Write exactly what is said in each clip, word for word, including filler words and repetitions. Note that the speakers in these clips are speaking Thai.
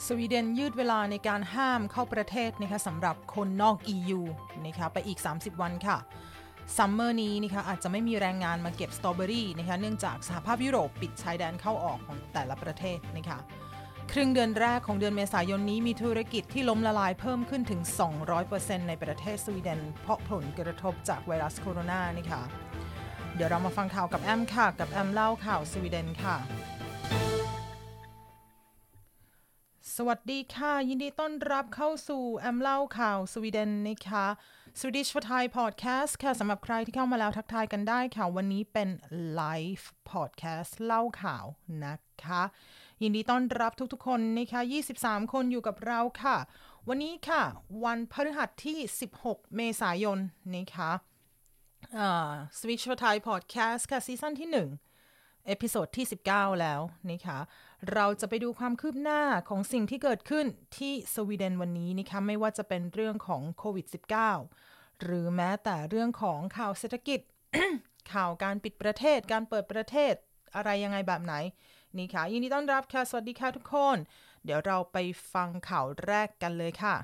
สวีเดนยืดเวลาในการห้ามเข้าประเทศนะคะสำหรับคนนอก อี ยู นะคะไปอีกสามสิบวันค่ะซัมเมอร์นี้นะคะอาจจะไม่มีแรงงานมาเก็บสตรอเบอรี่นะคะเนื่องจากสหภาพยุโรปปิดชายแดนเข้าออกของแต่ละประเทศนะคะครึ่งเดือนแรกของเดือนเมษายนนี้มีธุรกิจที่ล้มละลายเพิ่มขึ้นถึง สองร้อยเปอร์เซ็นต์ ในประเทศสวีเดนเพราะผลกระทบจากไวรัสโคโรนานะคะเดี๋ยวเรามาฟังข่าวกับแอมค่ะกับแอมเล่าข่าวสวีเดนค่ะสวัสดีค่ะยินดีต้อนรับเข้าสู่แอมเล่าข่าวสวีเดนนะคะ Swedish for Thai Podcast ค่ะสำหรับใครที่เข้ามาแล้วทักทายกันได้ค่ะวันนี้เป็น Live Podcast เล่าข่าวนะคะยินดีต้อนรับทุกๆคนนะคะยี่สิบสามคนอยู่กับเราค่ะวันนี้ค่ะวันพฤหัสที่สิบหกเมษายนนะคะอ่า Swedish for Thai Podcast ค่ะซีซั่นที่หนึ่งเอพิโซดที่สิบเก้าแล้วนะคะเราจะไปดูความคืบหน้าของสิ่งที่เกิดขึ้นที่สวีเดนวันนี้นะคะไม่ว่าจะเป็นเรื่องของโควิด สิบเก้า หรือแม้แต่เรื่องของข่าวเศรษฐกิจ ข่าวการปิดประเทศการเปิดประเทศอะไรยังไงแบบไหนนี่ค่ะยินดีต้อนรับค่ะสวัสดีค่ะทุกคนเดี๋ยวเราไปฟังข่าวแรกกันเลยค่ะ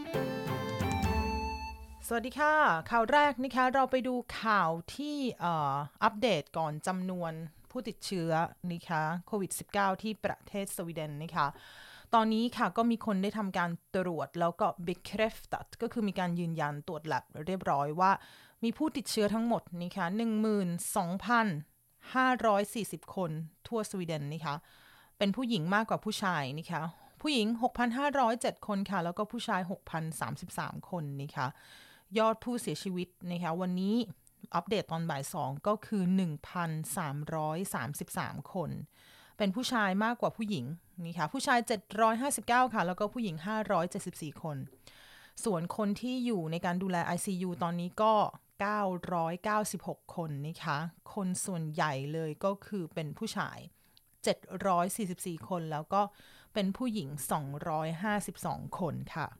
สวัสดีค่ะข่าวแรกนะคะเราไปดูข่าวที่อัปเดตก่อนจำนวนผู้ติดเชื้อนะคะโควิด สิบเก้า ที่ประเทศสวีเดนนะคะตอนนี้ค่ะก็มีคนได้ทำการตรวจแล้วก็ bekräftat ก็คือมีการยืนยันตรวจ lab เรียบร้อยว่ามีผู้ติดเชื้อทั้งหมดนะคะ หนึ่งหมื่นสองพันห้าร้อยสี่สิบ คนทั่วสวีเดนนะคะเป็นผู้หญิงมากกว่าผู้ชายนะคะผู้หญิง หกพันห้าร้อยเจ็ด คนค่ะแล้วก็ผู้ชาย หกพันสามสิบสาม คนนะคะยอดผู้เสียชีวิตนะคะวันนี้อัปเดตตอนบ่ายสองก็คือ หนึ่งพันสามร้อยสามสิบสาม คนเป็นผู้ชายมากกว่าผู้หญิงนี่ค่ะผู้ชายเจ็ดร้อยห้าสิบเก้าค่ะแล้วก็ผู้หญิงห้าร้อยเจ็ดสิบสี่คนส่วนคนที่อยู่ในการดูแล ไอ ซี ยู ตอนนี้ก็เก้าร้อยเก้าสิบหกคนนะคะคนส่วนใหญ่เลยก็คือเป็นผู้ชายเจ็ดร้อยสี่สิบสี่คนแล้วก็เป็นผู้หญิงสองร้อยห้าสิบสองคนค่ะ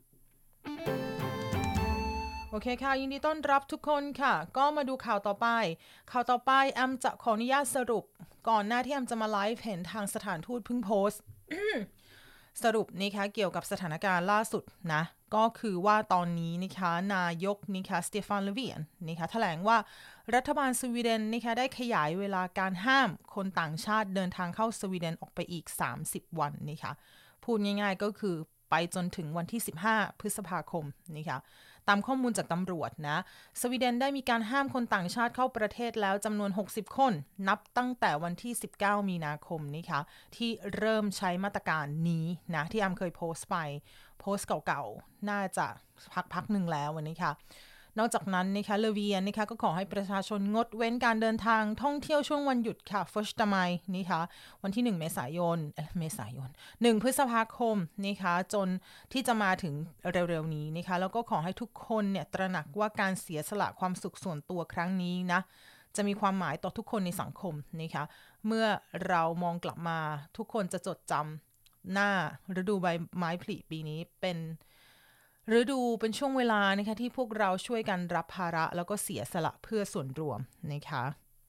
โอเคค่ะยินดีต้อนรับทุกคนค่ะก็มาดูข่าวต่อไปข่าวต่อไปแอมจะขออนุญาตสรุปก่อนหน้าที่แอมจะมาไลฟ์เห็นทางสถานทูตเพิ่งโพสต์ สรุปนะคะเกี่ยวกับสถานการณ์ล่าสุดนะก็คือว่าตอนนี้นะคะนายกนะคะสเตฟาน เลเวียนนะคะแถลงว่ารัฐบาลสวีเดนนะคะได้ขยายเวลาการห้ามคนต่างชาติเดินทางเข้าสวีเดนออกไปอีกสามสิบวันนะคะพูดง่ายๆก็คือไปจนถึงวันที่สิบห้าพฤษภาคมนะคะตามข้อมูลจากตำรวจนะสวีเดนได้มีการห้ามคนต่างชาติเข้าประเทศแล้วจำนวนหกสิบคนนับตั้งแต่วันที่สิบเก้ามีนาคมนะคะที่เริ่มใช้มาตรการนี้นะที่แอมเคยโพสต์ไปโพสต์เก่าๆน่าจะพักๆหนึ่งแล้ววันนี้ค่ะนอกจากนั้นนะคะเลเวียนนะคะก็ขอให้ประชาชนงดเว้นการเดินทางท่องเที่ยวช่วงวันหยุดค่ะฟัสตไมนะคะวันที่หนึ่งเมษายนเอ๊ะเมษายนหนึ่งพฤษภาคมนะคะจนที่จะมาถึงเร็วๆนี้นะคะแล้วก็ขอให้ทุกคนเนี่ยตระหนักว่าการเสียสละความสุขส่วนตัวครั้งนี้นะจะมีความหมายต่อทุกคนในสังคมนะคะเมื่อเรามองกลับมาทุกคนจะจดจำหน้าฤดูใบไม้ผลิปีนี้เป็นฤดูเป็นช่วงเวลานะคะที่พวกเราช่วยกันรับภาระแล้วก็เสียสละเพื่อส่วนรวมนะคะ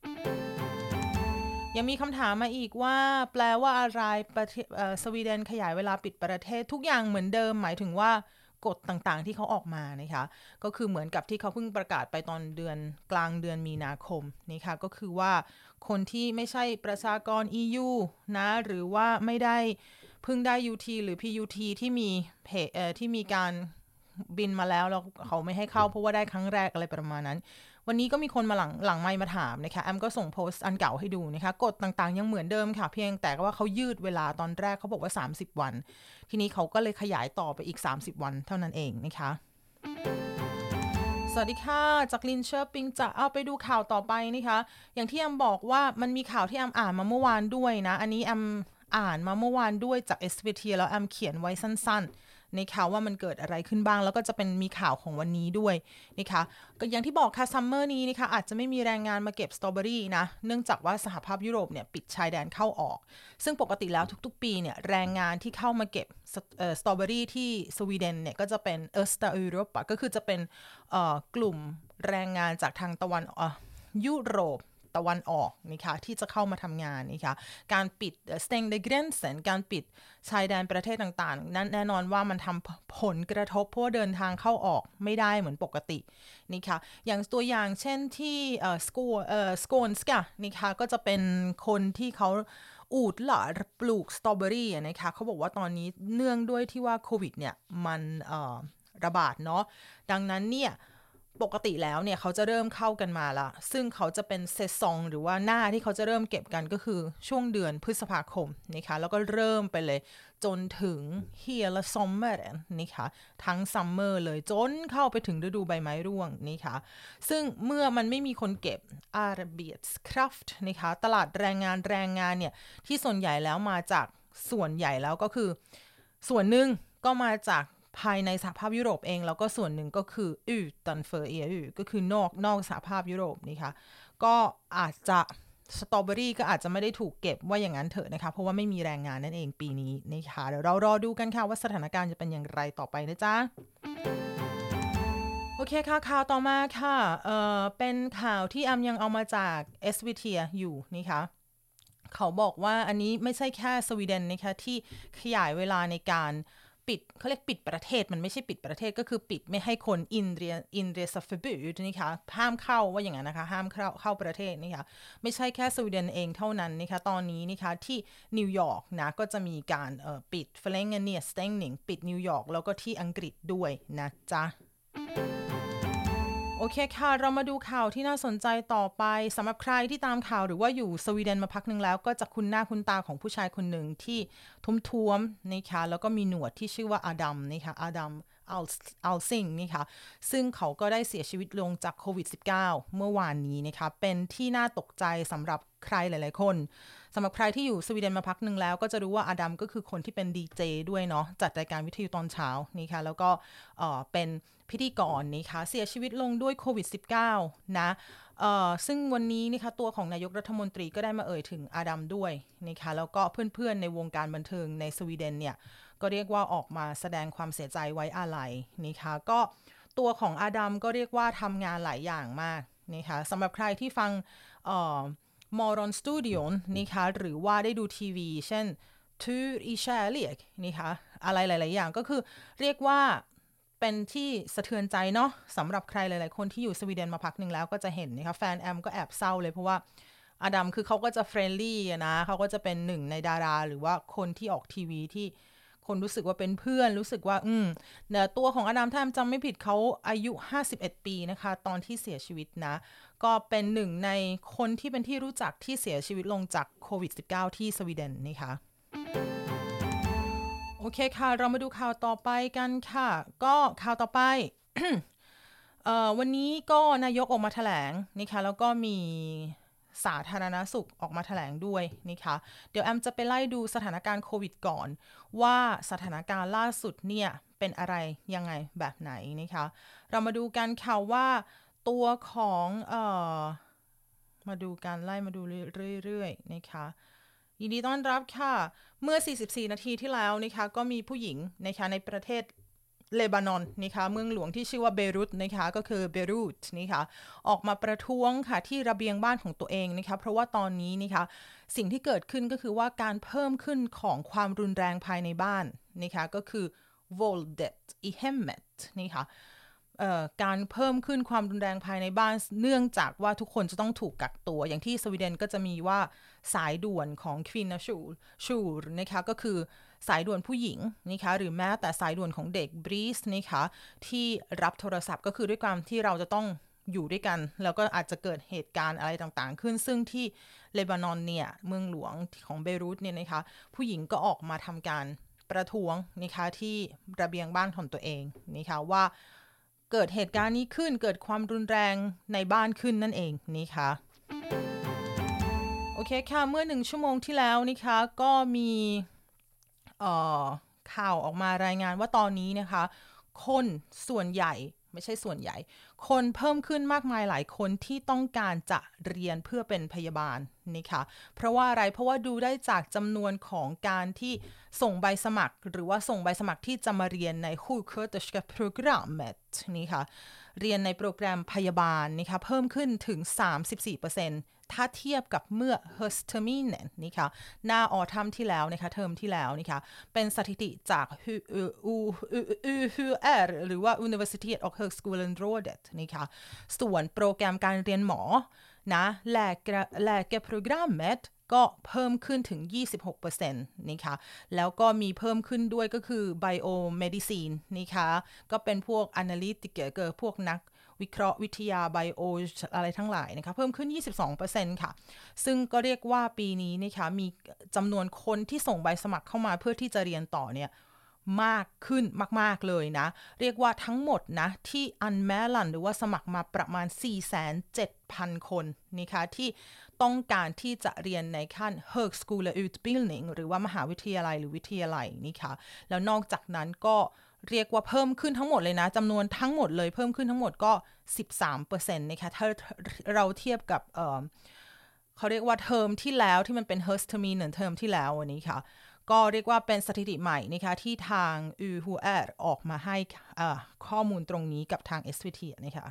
ยังมีคำถามมาอีกว่าแปลว่าอะไรประเทศสวีเดนขยายเวลาปิดประเทศทุกอย่างเหมือนเดิมหมายถึงว่ากฎต่างๆที่เขาออกมานะคะก็คือเหมือนกับที่เขาเพิ่งประกาศไปตอนเดือนกลางเดือนมีนาคมนี่ค่ะก็คือว่าคนที่ไม่ใช่ประชากร อี ยู นะหรือว่าไม่ได้เพิ่งได้ ยู ที หรือ พี ยู ที ที่มีเพเอ่อที่มีการบินมาแล้วแล้วเขาไม่ให้เข้าเพราะว่าได้ครั้งแรกอะไรประมาณนั้นวันนี้ก็มีคนมาหลังหลังไมค์มาถามนะคะแอมก็ส่งโพสต์อันเก่าให้ดูนะคะกฎต่างๆยังเหมือนเดิมค่ะเพียงแต่ว่าเขายืดเวลาตอนแรกเขาบอกว่าสามสิบวันทีนี้เขาก็เลยขยายต่อไปอีกสามสิบวันเท่านั้นเองนะคะสวัสดีค่ะจากลินเชอร์ปิงจะเอาไปดูข่าวต่อไปนะคะอย่างที่แอมบอกว่ามันมีข่าวที่แอมอ่านมาเมื่อวานด้วยนะอันนี้แอมอ่านมาเมื่อวานด้วยจาก เอส วี ที แล้วแอมเขียนไว้สั้นๆในข่าวว่ามันเกิดอะไรขึ้นบ้างแล้วก็จะเป็นมีข่าวของวันนี้ด้วยนะคะก็อย่างที่บอกค่ะซัมเมอร์นี้นะคะอาจจะไม่มีแรงงานมาเก็บสตรอเบอรี่นะเนื่องจากว่าสหภาพยุโรปเนี่ยปิดชายแดนเข้าออกซึ่งปกติแล้วทุกๆปีเนี่ยแรงงานที่เข้ามาเก็บสตรอเบอรี่ที่สวีเดนเนี่ยก็จะเป็นเอสตายุโรปก็คือจะเป็นกลุ่มแรงงานจากทางตะวันยุโรปตะวันออกนะคะที่จะเข้ามาทำงานนะคะการปิด stängda gränsen การปิดชายแดนประเทศต่างๆนั้นแน่นอนว่ามันทำผลกระทบเพราะเดินทางเข้าออกไม่ได้เหมือนปกตินะคะอย่างตัวอย่างเช่นที่เอ่อสโกเอ่อสโกนสกะนะคะก็จะเป็นคนที่เขาอูดหลาปลูกสตรอเบอรี่นะคะเขาบอกว่าตอนนี้เนื่องด้วยที่ว่าโควิดเนี่ยมันเอ่อระบาดเนาะดังนั้นเนี่ยปกติแล้วเนี่ยเขาจะเริ่มเข้ากันมาละซึ่งเขาจะเป็นเซซองหรือว่าหน้าที่เขาจะเริ่มเก็บกันก็คือช่วงเดือนพฤษภาคมนะคะแล้วก็เริ่มไปเลยจนถึง hela sommaren นะคะทั้งซัมเมอร์เลยจนเข้าไปถึงฤดูใบไม้ร่วงนะคะซึ่งเมื่อมันไม่มีคนเก็บ arbetskraft นะคะตลาดแรงงานแรงงานเนี่ยที่ส่วนใหญ่แล้วมาจากส่วนใหญ่แล้วก็คือส่วนหนึ่งก็มาจากภายในสหภาพยุโรปเองแล้วก็ส่วนหนึ่งก็คือ utanför เอ ยู ก็คือนอกนอกสหภาพยุโรปนี่ค่ะก็อาจจะสตรอเบอรี่ก็อาจจะไม่ได้ถูกเก็บว่าอย่างนั้นเถอะนะคะเพราะว่าไม่มีแรงงานนั่นเองปีนี้นะคะเดี๋ยวเรารอดูกันค่ะว่าสถานการณ์จะเป็นอย่างไรต่อไปนะจ๊ะโอเคค่ะข่าวต่อมาค่ะเอ่อเป็นข่าวที่แอมยังเอามาจาก เอส วี ที อยู่นะคะเขาบอกว่าอันนี้ไม่ใช่แค่สวีเดนนะคะที่ขยายเวลาในการปิดเขาเรียกปิดประเทศมันไม่ใช่ปิดประเทศก็คือปิดไม่ให้คนอินเดียอินเดียซัฟเฟบูดนะคะห้ามเข้าว่าอย่างนั้นนะคะห้ามเข้าเข้าประเทศนะคะไม่ใช่แค่สวีเดนเองเท่านั้นนะคะตอนนี้นะคะที่นิวยอร์กนะก็จะมีการเอ่อปิดเฟลงเนียสเตงนิงปิดนิวยอร์กแล้วก็ที่อังกฤษด้วยนะจ๊ะโอเคค่ะเรามาดูข่าวที่น่าสนใจต่อไปสำหรับใครที่ตามข่าวหรือว่าอยู่สวีเดนมาพักหนึ่งแล้วก็จะคุ้นหน้าคุ้นตาของผู้ชายคนหนึ่งที่ท้วมๆนะคะแล้วก็มีหนวดที่ชื่อว่าอดัมนะคะอดัมอัลอัลซิงนะคะซึ่งเขาก็ได้เสียชีวิตลงจากโควิด สิบเก้า เมื่อวานนี้นะคะเป็นที่น่าตกใจสำหรับใครหลายๆคนสำหรับใครที่อยู่สวีเดนมาพักหนึ่งแล้วก็จะรู้ว่าอดัมก็คือคนที่เป็นดีเจด้วยเนาะจัดรายการวิทยุตอนเช้านะคะแล้วก็เอ่อเป็นพิธีกรนะคะเสียชีวิตลงด้วยโควิด สิบเก้า นะเอ่อซึ่งวันนี้นะคะตัวของนายกรัฐมนตรีก็ได้มาเอ่ยถึงอดัมด้วยนะคะแล้วก็เพื่อนๆในวงการบันเทิงในสวีเดนเนี่ยก็เรียกว่าออกมาแสดงความเสียใจไว้อาลัยนะคะก็ตัวของอดัมก็เรียกว่าทำงานหลายอย่างมากนะคะสำหรับใครที่ฟังเอ่อมอรอนสตูดิโอนะคะหรือว่าได้ดูทีวีเช่น Tur i kärlek นะคะอะไรหลายๆอย่างก็คือเรียกว่าเป็นที่สะเทือนใจเนาะสำหรับใครหลายๆคนที่อยู่สวีเดนมาพักหนึ่งแล้วก็จะเห็นนะคะแฟนแอมก็แอบเศร้าเลยเพราะว่าอดัมคือเขาก็จะเฟรนลี่นะเขาก็จะเป็นหนึ่งในดาราหรือว่าคนที่ออกทีวีที่คนรู้สึกว่าเป็นเพื่อนรู้สึกว่าอืมเนื้อตัวของอดัมถ้าจำไม่ผิดเขาอายุห้าสิบเอ็ดปีนะคะตอนที่เสียชีวิตนะก็เป็นหนึ่งในคนที่เป็นที่รู้จักที่เสียชีวิตลงจากโควิด สิบเก้า ที่สวีเดนนะคะโอเคค่ะเรามาดูข่าวต่อไปกันค่ะก็ข่าวต่อไป วันนี้ก็นายกออกมาแถลงนะคะแล้วก็มีสาธารณสุขออกมาแถลงด้วยนะคะเดี๋ยวแอมจะไปไล่ดูสถานการณ์โควิดก่อนว่าสถานการณ์ล่าสุดเนี่ยเป็นอะไรยังไงแบบไหนนะคะเรามาดูกันค่ะว่าตัวของเอ่อมาดูการไล่มาดูเรื่อยๆนะคะยินดีต้อนรับค่ะเมื่อสี่สิบสี่นาทีที่แล้วนะคะก็มีผู้หญิงนะคะในประเทศเลบานอนนะคะเมืองหลวงที่ชื่อว่าเบรุตนะคะก็คือเบรุตนะคะออกมาประท้วงค่ะที่ระเบียงบ้านของตัวเองนะคะเพราะว่าตอนนี้นะคะสิ่งที่เกิดขึ้นก็คือว่าการเพิ่มขึ้นของความรุนแรงภายในบ้านนะคะก็คือ våldet i hemmet นะคะการเพิ่มขึ้นความรุนแรงภายในบ้านเนื่องจากว่าทุกคนจะต้องถูกกักตัวอย่างที่สวีเดนก็จะมีว่าสายด่วนของควินชูชูนะคะก็คือสายด่วนผู้หญิงนะคะหรือแม้แต่สายด่วนของเด็กบรีสนะคะที่รับโทรศัพท์ก็คือด้วยความที่เราจะต้องอยู่ด้วยกันแล้วก็อาจจะเกิดเหตุการณ์อะไรต่างๆขึ้นซึ่งที่เลบานอนเนี่ยเมืองหลวงของเบรุตเนี่ยนะคะผู้หญิงก็ออกมาทำการประท้วงนะคะที่ระเบียงบ้านของตัวเองนะคะว่าเกิดเหตุการณ์นี้ขึ้นเกิดความรุนแรงในบ้านขึ้นนั่นเองนะคะโอเคค่ะเมื่อหนึ่งชั่วโมงที่แล้วนะคะก็มีเอ่อข่าวออกมารายงานว่าตอนนี้นะคะคนส่วนใหญ่ไม่ใช่ส่วนใหญ่คนเพิ่มขึ้นมากมายหลายคนที่ต้องการจะเรียนเพื่อเป็นพยาบาลนะคะเพราะว่าอะไรเพราะว่าดูได้จากจำนวนของการที่ส่งใบสมัครหรือว่าส่งใบสมัครที่จะมาเรียนใน sjuksköterskeprogrammet นี่ค่ะเรียนในโปรแกรมพยาบาลนะคะเพิ่มขึ้นถึง สามสิบสี่เปอร์เซ็นต์ถ้าเทียบกับเมื่อ höstterminen นี่ค่ะหน้าออทัมที่แล้วนะคะเทอมที่แล้วนี่ค่ะเป็นสถิติจาก ยู แอช อาร์ หรือว่า Universitet och högskolerådet นี่ค่ะส่วนโปรแกรมการเรียนหมอนะแลกแลกโปรแกรมก็เพิ่มขึ้นถึง ยี่สิบหกเปอร์เซ็นต์ นะคะแล้วก็มีเพิ่มขึ้นด้วยก็คือ biomedicine นะคะก็เป็นพวก analytiker เกิดพวกนักวิเคราะห์วิทยา bio อะไรทั้งหลายนะคะเพิ่มขึ้น ยี่สิบสองเปอร์เซ็นต์ ค่ะซึ่งก็เรียกว่าปีนี้นะคะมีจำนวนคนที่ส่งใบสมัครเข้ามาเพื่อที่จะเรียนต่อเนี่ยมากขึ้นมากๆเลยนะเรียกว่าทั้งหมดนะที่ anmälan หรือว่าสมัครมาประมาณ สี่แสนเจ็ดพัน คนนะคะที่ต้องการที่จะเรียนในขั้น högskoleutbildning หรือว่ามหาวิทยาลัยหรือวิทยาลัยนี่ค่ะแล้วนอกจากนั้นก็เรียกว่าเพิ่มขึ้นทั้งหมดเลยนะจำนวนทั้งหมดเลยเพิ่มขึ้นทั้งหมดก็ สิบสามเปอร์เซ็นต์ นะคะถ้าเราเทียบกับเอ่อเขาเรียกว่าเทอมที่แล้วที่มันเป็น höstterminen เทอมที่แล้ววันนี้ค่ะก็เรียกว่าเป็นสถิติใหม่นะคะที่ทาง ยู แอช อาร์ ออกมาให้ข้อมูลตรงนี้กับทาง เอส วี ที นะคะ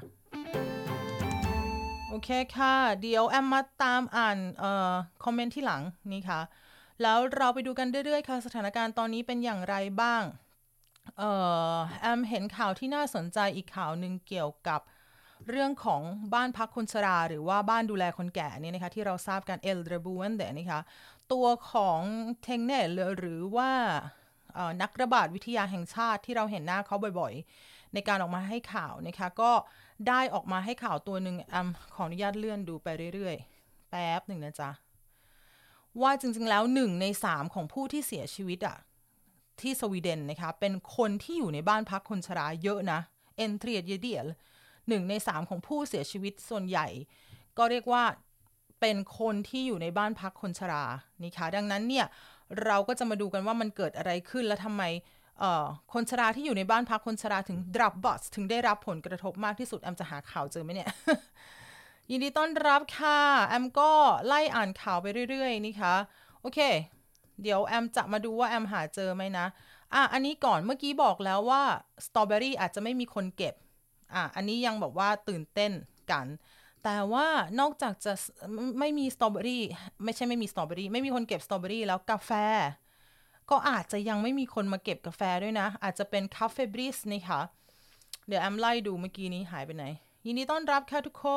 โอเคค่ะเดี๋ยวแอมมาตามอ่านเอ่อคอมเมนต์ที่หลังนี่ค่ะแล้วเราไปดูกันเรื่อยๆค่ะสถานการณ์ตอนนี้เป็นอย่างไรบ้างเอ่อแอมเห็นข่าวที่น่าสนใจอีกข่าวหนึ่งเกี่ยวกับเรื่องของบ้านพักคนชราหรือว่าบ้านดูแลคนแก่นี่นะคะที่เราทราบกัน Äldreboende นะคะตัวของเทงเนลหรือว่านักระบาดวิทยาแห่งชาติที่เราเห็นหน้าเขาบ่อยๆในการออกมาให้ข่าวนะคะก็ได้ออกมาให้ข่าวตัวหนึ่งแอมขออนุญาตเลื่อนดูไปเรื่อยๆแป๊บหนึ่งนะจ๊ะว่าจริงๆแล้วหนึ่งในสามของผู้ที่เสียชีวิตอะที่สวีเดนนะคะเป็นคนที่อยู่ในบ้านพักคนชราเยอะนะเอนเทรียดเยเดียลหนึ่งในสามของผู้เสียชีวิตส่วนใหญ่ก็เรียกว่าเป็นคนที่อยู่ในบ้านพักคนชรานี่ค่ะดังนั้นเนี่ยเราก็จะมาดูกันว่ามันเกิดอะไรขึ้นและทำไมคนชราที่อยู่ในบ้านพักคนชราถึงดรับบัสถึงได้รับผลกระทบมากที่สุดแอมจะหาข่าวเจอไหมเนี่ย ยินดีต้อนรับค่ะแอมก็ไล่อ่านข่าวไปเรื่อยๆนี่ค่ะโอเคเดี๋ยวแอมจะมาดูว่าแอมหาเจอไหมนะอ่ะอันนี้ก่อนเมื่อกี้บอกแล้วว่าสตรอเบอรี่อาจจะไม่มีคนเก็บอ่ะอันนี้ยังบอกว่าตื่นเต้นกันแต่ว่านอกจากจะไม่มีสตรอเบอรี่ไม่ใช่ไม่มีสตรอเบอรี่ไม่มีคนเก็บสตรอเบอรี่แล้วกาแฟก็อาจจะยังไม่มีคนมาเก็บกาแฟด้วยนะอาจจะเป็นคาเฟ่บริสนี่ค่ะเดี๋ยวแอมไล่ดูเมื่อกี้นี้หายไปไหนยินดีต้อนรับค่ะทุกคน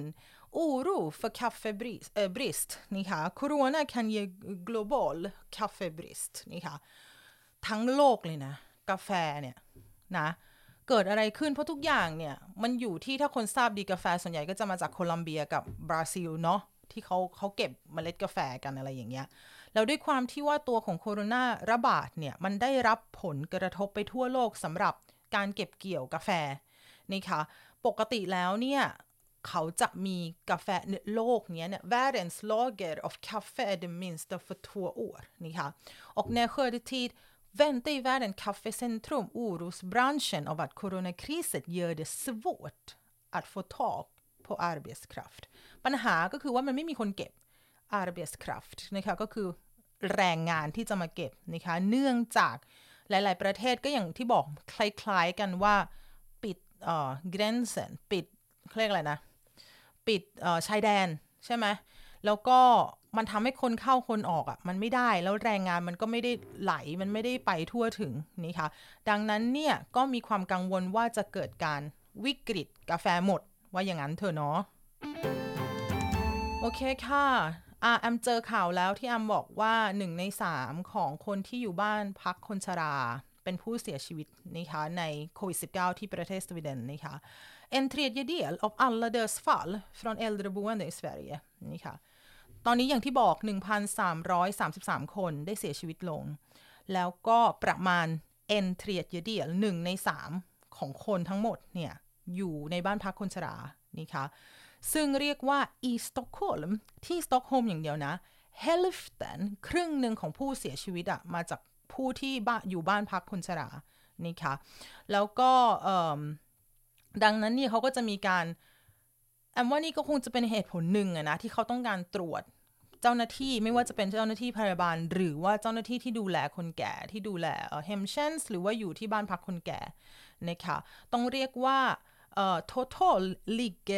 Oro för kaffebrist นี่ค่ะ Corona kan ge global kaffebrist นี่ค่ะทั้งโลกเลยนะกาแฟเนี่ยนะเกิดอะไรขึ้นเพราะทุกอย่างเนี่ยมันอยู่ที่ถ้าคนทราบดีกาแฟส่วนใหญ่ก็จะมาจากโคลัมเบียกับบราซิลเนาะที่เขาเขาเก็บเมล็ดกาแฟกันอะไรอย่างเงี้ยแล้วด้วยความที่ว่าตัวของโคโรนาระบาดเนี่ยมันได้รับผลกระทบไปทั่วโลกสำหรับการเก็บเกี่ยวกาแฟนี่ค่ะปกติแล้วเนี่ยเขาจะมีกาแฟโลกเนี้ยเนี่ย världens lager av kaffe är det minsta för två år นี่ค่ะoch när skördetid väntar i världen kaffecentrum orosbranschen av att coronakrisen gör det svårt att få tag på arbetskraft ปัญหาก็คือว่ามันไม่มีคนเก็บ arbetskraft นะคะก็คือแรงงานที่จะมาเก็บนะคะเนื่องจากหลายๆประเทศก็อย่างที่บอกคล้ายๆกันว่าปิดเอ่อ gränsen ปิดเรียกอะไรนะปิดเอ่อชายแดนใช่ไหมแล้วก็มันทำให้คนเข้าคนออกอ่ะมันไม่ได้แล้วแรงงานมันก็ไม่ได้ไหลมันไม่ได้ไปทั่วถึงนี่ค่ะดังนั้นเนี่ยก็มีความกังวลว่าจะเกิดการวิกฤตกาแฟหมดว่าอย่างนั้นเถอะเนาะโอเคค่ะอ่ะแอมเจอข่าวแล้วที่แอมบอกว่าหนึ่งในสามของคนที่อยู่บ้านพักคนชราเป็นผู้เสียชีวิตนะคะในโควิด สิบเก้า ที่ประเทศสวีเดนนะคะ En tredjedel av alla dödsfall från äldreboende i Sverige นี่ค่ะตอนนี้อย่างที่บอก หนึ่งพันสามร้อยสามสิบสาม คนได้เสียชีวิตลงแล้วก็ประมาณ en tredjedel หนึ่งในสามของคนทั้งหมดเนี่ยอยู่ในบ้านพักคนชรานี่ค่ะซึ่งเรียกว่า i Stockholm ที่สต็อกโฮล์มอย่างเดียวนะ hälften ครึ่งหนึ่งของผู้เสียชีวิตอะมาจากผู้ที่บ้านอยู่บ้านพักคนชรานี่ค่ะแล้วก็ดังนั้นนี่เขาก็จะมีการแอมว่านี่ก็คงจะเป็นเหตุผลหนึ่งอะนะที่เขาต้องการตรวจเจ้าหน้าที่ไม่ว่าจะเป็นเจ้าหน้าที่พยาบาลหรือว่าเจ้าหน้าที่ที่ดูแลคนแก่ที่ดูแลเฮมเชนส์หรือว่าอยู่ที่บ้านพักคนแก่นะคะต้องเรียกว่า total ligger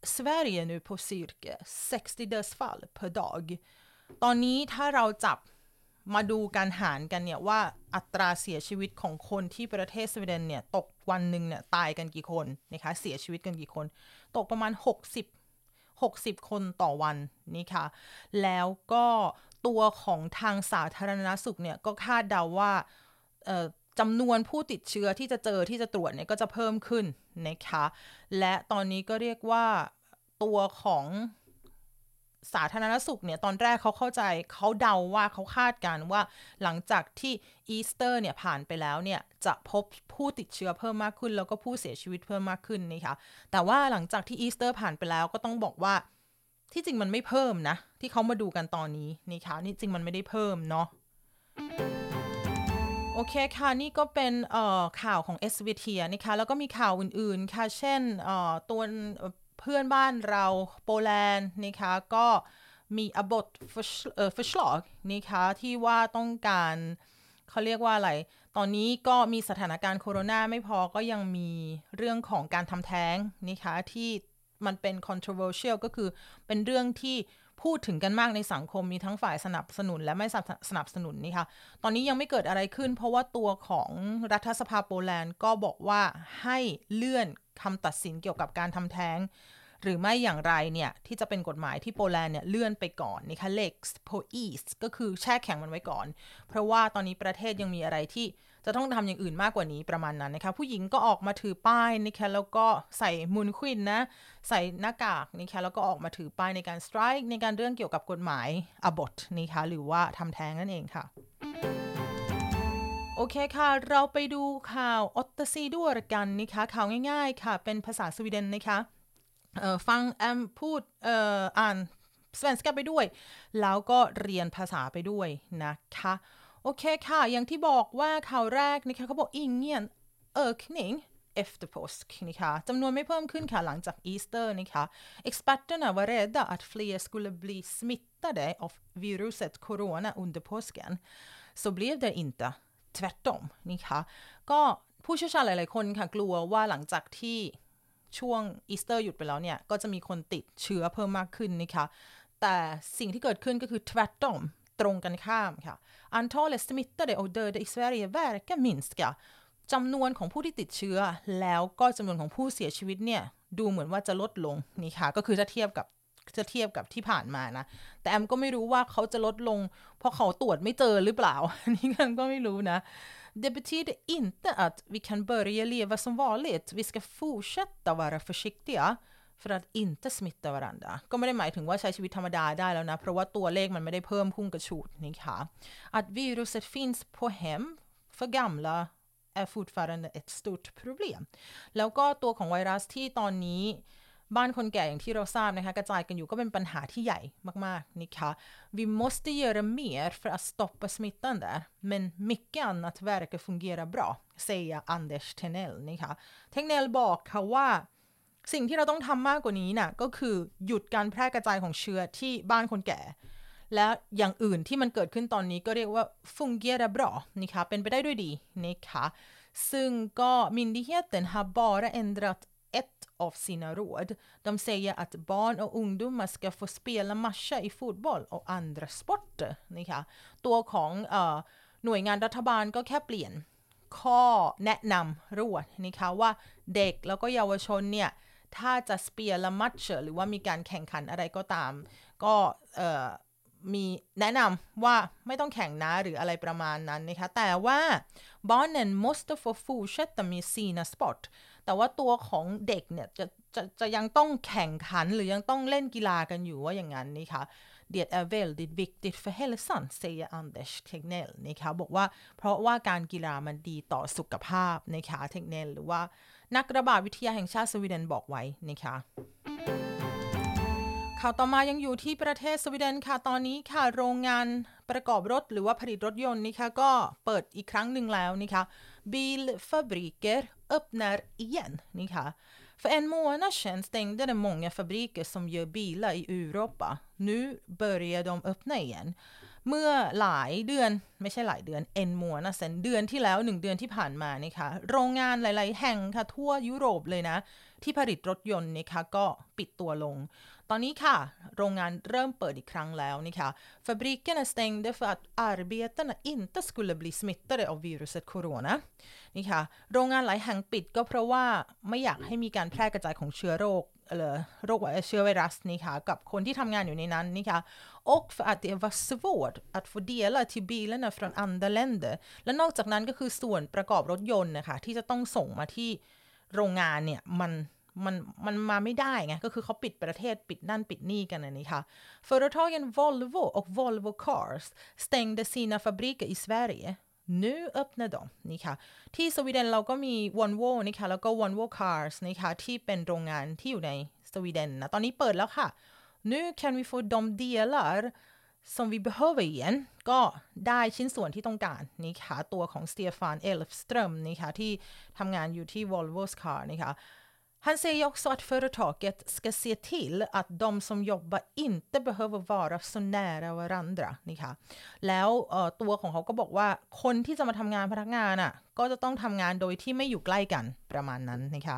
Sverige nu på cirka sextio dödsfall per dag ตอนนี้ถ้าเราจับมาดูการหารกันเนี่ยว่าอัตราเสียชีวิตของคนที่ประเทศสวีเดนเนี่ยตกวันหนึ่งเนี่ยตายกันกี่คนนะคะเสียชีวิตกันกี่คนตกประมาณหกสิบ หกสิบคนต่อวันนี่ค่ะแล้วก็ตัวของทางสาธารณสุขเนี่ยก็คาดเดาว่าจำนวนผู้ติดเชื้อที่จะเจอที่จะตรวจเนี่ยก็จะเพิ่มขึ้นนะคะและตอนนี้ก็เรียกว่าตัวของสาธารณสุขเนี่ยตอนแรกเขาเข้าใจเขาเดาว่าเขาคาดการว่าหลังจากที่อีสเตอร์เนี่ยผ่านไปแล้วเนี่ยจะพบผู้ติดเชื้อเพิ่มมากขึ้นแล้วก็ผู้เสียชีวิตเพิ่มมากขึ้นนะคะแต่ว่าหลังจากที่อีสเตอร์ผ่านไปแล้วก็ต้องบอกว่าที่จริงมันไม่เพิ่มนะที่เขามาดูกันตอนนี้นะคะนี่จริงมันไม่ได้เพิ่มเนาะโอเคค่ะนี่ก็เป็นข่าวของ เอส วี ที นะคะแล้วก็มีข่าวอื่นๆค่ะเช่นตัวเพื่อนบ้านเราโปแลนด์นะคะก็มีอบทฟิชลอกนะคะที่ว่าต้องการเขาเรียกว่าอะไรตอนนี้ก็มีสถานการณ์โควิดไม่พอก็ยังมีเรื่องของการทำแท้งนะคะที่มันเป็น controversial ก็คือเป็นเรื่องที่พูดถึงกันมากในสังคมมีทั้งฝ่ายสนับสนุนและไม่สนับสนุนนี่ค่ะตอนนี้ยังไม่เกิดอะไรขึ้นเพราะว่าตัวของรัฐสภาโปแลนด์ก็บอกว่าให้เลื่อนคำตัดสินเกี่ยวกับการทำแท้งหรือไม่อย่างไรเนี่ยที่จะเป็นกฎหมายที่โปแลนด์เนี่ยเลื่อนไปก่อนนะคะ Lex Polis ก็คือแช่แข็งมันไว้ก่อนเพราะว่าตอนนี้ประเทศยังมีอะไรที่จะต้องทำอย่างอื่นมากกว่านี้ประมาณนั้นนะคะผู้หญิงก็ออกมาถือป้ายนะคะแล้วก็ใส่มุนควินนะใส่หน้ากากนะคะแล้วก็ออกมาถือป้ายในการสไตรค์ในการเรื่องเกี่ยวกับกฎหมาย abort นะคะหรือว่าทำแท้งนั่นเองค่ะโอเคค่ะเราไปดูข่าวออตเตซีด้วยกันนะคะข่าวง่ายๆค่ะเป็นภาษาสวีเดนนะคะฟังแอมพูดออ่านสเปนสกาไปด้วยแล้วก็เรียนภาษาไปด้วยนะคะโอเคค่ะอย่างที่บอกว่าข่าวแรกนะคะเขาบอกอิงเงียนเออคนิง efter påsk นะคะจำนวนไม่เพิ่มขึ้นค่ะหลังจากอีสเตอร์นะคะ experterna var rädda att fler skulle bli smittade av viruset corona under påsken så blev det inte tvärtom นะคะก็ผู้เชี่ยวชาญหลายๆคนค่ะกลัวว่าหลังจากที่ช่วงอีสเตอร์หยุดไปแล้วเนี่ยก็จะมีคนติดเชื้อเพิ่มมากขึ้นนะคะแต่สิ่งที่เกิดขึ้นก็คือ tvärtom ตรงกันข้ามค่ะ antalet smittade och döda i Sverige verkar minska จำนวนของผู้ที่ติดเชื้อแล้วก็จำนวนของผู้เสียชีวิตเนี่ยดูเหมือนว่าจะลดลงนี่ค่ะก็คือจะเทียบกับจะเทียบกับที่ผ่านมานะแต่แอมก็ไม่รู้ว่าเขาจะลดลงเพราะเขาตรวจไม่เจอหรือเปล่านี่กันก็ไม่รู้นะDet betyder inte att vi kan börja leva som vanligt. Vi ska fortsätta vara försiktiga för att inte smitta varandra. ก็ไม่ได้หมายถึงว่าใช้ชีวิตธรรมดาได้แล้วนะเพราะว่าตัวเลขมันไม่ได้เพิ่มพุ่งกระฉูดนี่ค่ะ Att viruset finns på hem för gamla är fortfarande ett stort problem. แล้วก็ตัวของไวรัสที่ตอนนี้บ้านคนแก่อย่างที่เราทราบนะคะกระจายกันอยู่ก็เป็นปัญหาที่ใหญ่มากๆนะคะ Vi måste göra mer för att stoppa smittan där men mycket annat verkar fungera bra säger Anders Tegnell นะคะ Tegnell บอกค่ะว่าสิ่งที่เราต้องทำมากกว่านี้น่ะก็คือหยุดการแพร่กระจายของเชื้อที่บ้านคนแก่และอย่างอื่นที่มันเกิดขึ้นตอนนี้ก็เรียกว่า fungera bra นะคะเป็นไปได้ด้วยดีนะคะซึ่งก็ myndigheten har bara ändrat ett av sina råd. De säger att barn och ungdomar ska få spela matcher i fotboll och andra sporter นะคะตัวของเอ่อหน่วยงานรัฐบาลก็แค่เปลี่ยนข้อแนะนำรวดนะคะว่าเด็กแล้วก็เยาวชนเนี่ยถ้าจะ spela matcher หรือว่ามีการแข่งขันอะไรก็ตามก็เอ่อมีแนะนำว่าไม่ต้องแข่งนะหรืออะไรประมาณนั้นนะคะแต่ว่า barnen måste få fortsätta med sina sport แต่ว่าตัวของเด็กเนี่ยจะจะจะยังต้องแข่งขันหรือยังต้องเล่นกีฬากันอยู่ว่าอย่างนั้นนะคะ Det är väldigt viktigt för hälsan säger Anders Tegnell นะคะบอกว่าเพราะว่าการกีฬามันดีต่อสุขภาพนะคะ Tegnell หรือว่านักระบาดวิทยาแห่งชาติสวีเดนบอกไว้นะคะข่าวต่อมายังอยู่ที่ประเทศสวีเดนค่ะตอนนี้ค่ะโรงงานประกอบรถหรือว่าผลิตรถยนต์นะคะก็เปิดอีกครั้งหนึ่งแล้วนะคะ Bilfabriker öppnar igen นะคะ För en månad sedan stängde det många fabriker som gör bilar i Europa. Nu börjar de öppna igen. เมื่อหลายเดือนไม่ใช่หลายเดือน en månad sedan เดือนที่แล้วหนึ่งเดือนที่ผ่านมานะคะโรงงานหลายๆแห่งค่ะทั่วยุโรปเลยนะที่ผลิตรถยนต์นะคะก็ปิดตัวลงตอนนี้ค่ะโรงงานเริ่มเปิดอีกครั้งแล้วนะคะ Fabrikerna stängde för att arbetarna inte skulle bli smittade av viruset corona นี่ค่ะโรงงานหลายแห่งปิดก็เพราะว่าไม่อยากให้มีการแพร่กระจายของเชื้อโรคหรือโรคเชื้อไวรัสนี่ค่ะกับคนที่ทำงานอยู่ในนั้นนี่ค่ะ och för att det var svårt att få delar till bilarna från andra länder และนอกจากนั้นก็คือส่วนประกอบรถยนต์นะคะที่จะต้องส่งมาที่โรงงานเนี่ยมันมันมันมาไม่ได้ไงก็คือเขาปิดประเทศปิดนั่นปิดนี่กันนะนี่ค่ะ Företagen Volvo och Volvo Cars stängde sina fabriker i Sverige nu öppnar de นี่ค่ะที่สวีเดนเราก็มี Volvo นี่ค่ะแล้วก็ Volvo Cars นี่ค่ะที่เป็นโรงงานที่อยู่ในสวีเดนนะตอนนี้เปิดแล้วค่ะ nu kan vi få de delar som vi behöver igen ก็ได้ชิ้นส่วนที่ต้องการนี่ค่ะตัวของสเตียฟานเอลฟสตรอมนี่ค่ะที่ทำงานอยู่ที่ Volvo's Car นี่ค่ะHan säger också att företaget ska se till att de som jobbar inte behöver vara så nära varandra นี่ค่ะแล้วตัวของเขาก็บอกว่าคนที่จะมาทำงานพนักงานอ่ะก็จะต้องทำงานโดยที่ไม่อยู่ใกล้กันประมาณนั้นนะคะ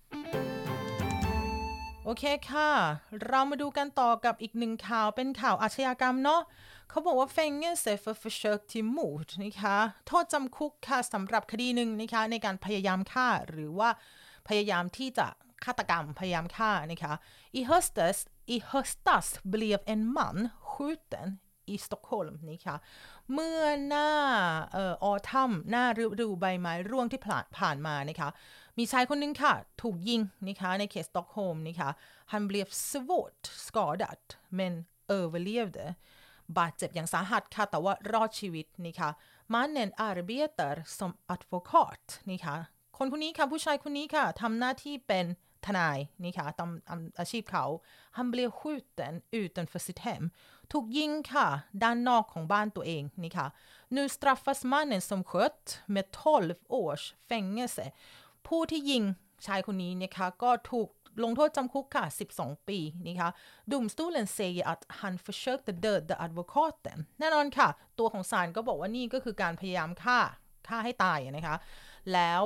โอเคค่ะเรามาดูกันต่อกับอีกหนึ่งข่าวเป็นข่าวอาชญากรรมเนาะเขาบอกว่า fängelse för försök till mord นะคะโทษจำคุกค่ะสำหรับคดีหนึ่งนะคะในการพยายามฆ่าหรือว่าพยายามที่จะฆาตกรรมพยายามฆ่านะคะ I höstas i höstas blev en man skjuten i Stockholm นะคะเมื่อหน้าเอ่อออทัมหน้าฤดูใบไม้ร่วงที่ผ่านผ่านมานะคะมีชายคนนึงค่ะถูกยิงนะคะในเขตสต็อกโฮล์มนะคะ Han blev svårt skadad men överlevde บาดเจ็บอย่างสาหัสค่ะแต่ว่ารอดชีวิตนะคะ Mannen arbetar som advokat นะคะคนคนนี้ค่ะผู้ชายคนนี้ค่ะทำหน้าที่เป็นทนายนี่ค่ะตามอาชีพเขา Han blev skjuten utanför sitt hem ถูกยิงค่ะด้านนอกของบ้านตัวเองนี่ค่ะ Nu straffas mannen som sköt med tolv års fängelse ผู้ที่ยิงชายคนนี้นะคะก็ถูกลงโทษจำคุกค่ะสิบสองปีนี่ค่ะ Domstolen säger att han försökte döda advokaten แน่นอนค่ะตัวของศาลก็บอกว่านี่ก็คือการพยายามฆ่าฆ่าให้ตายนะคะแล้ว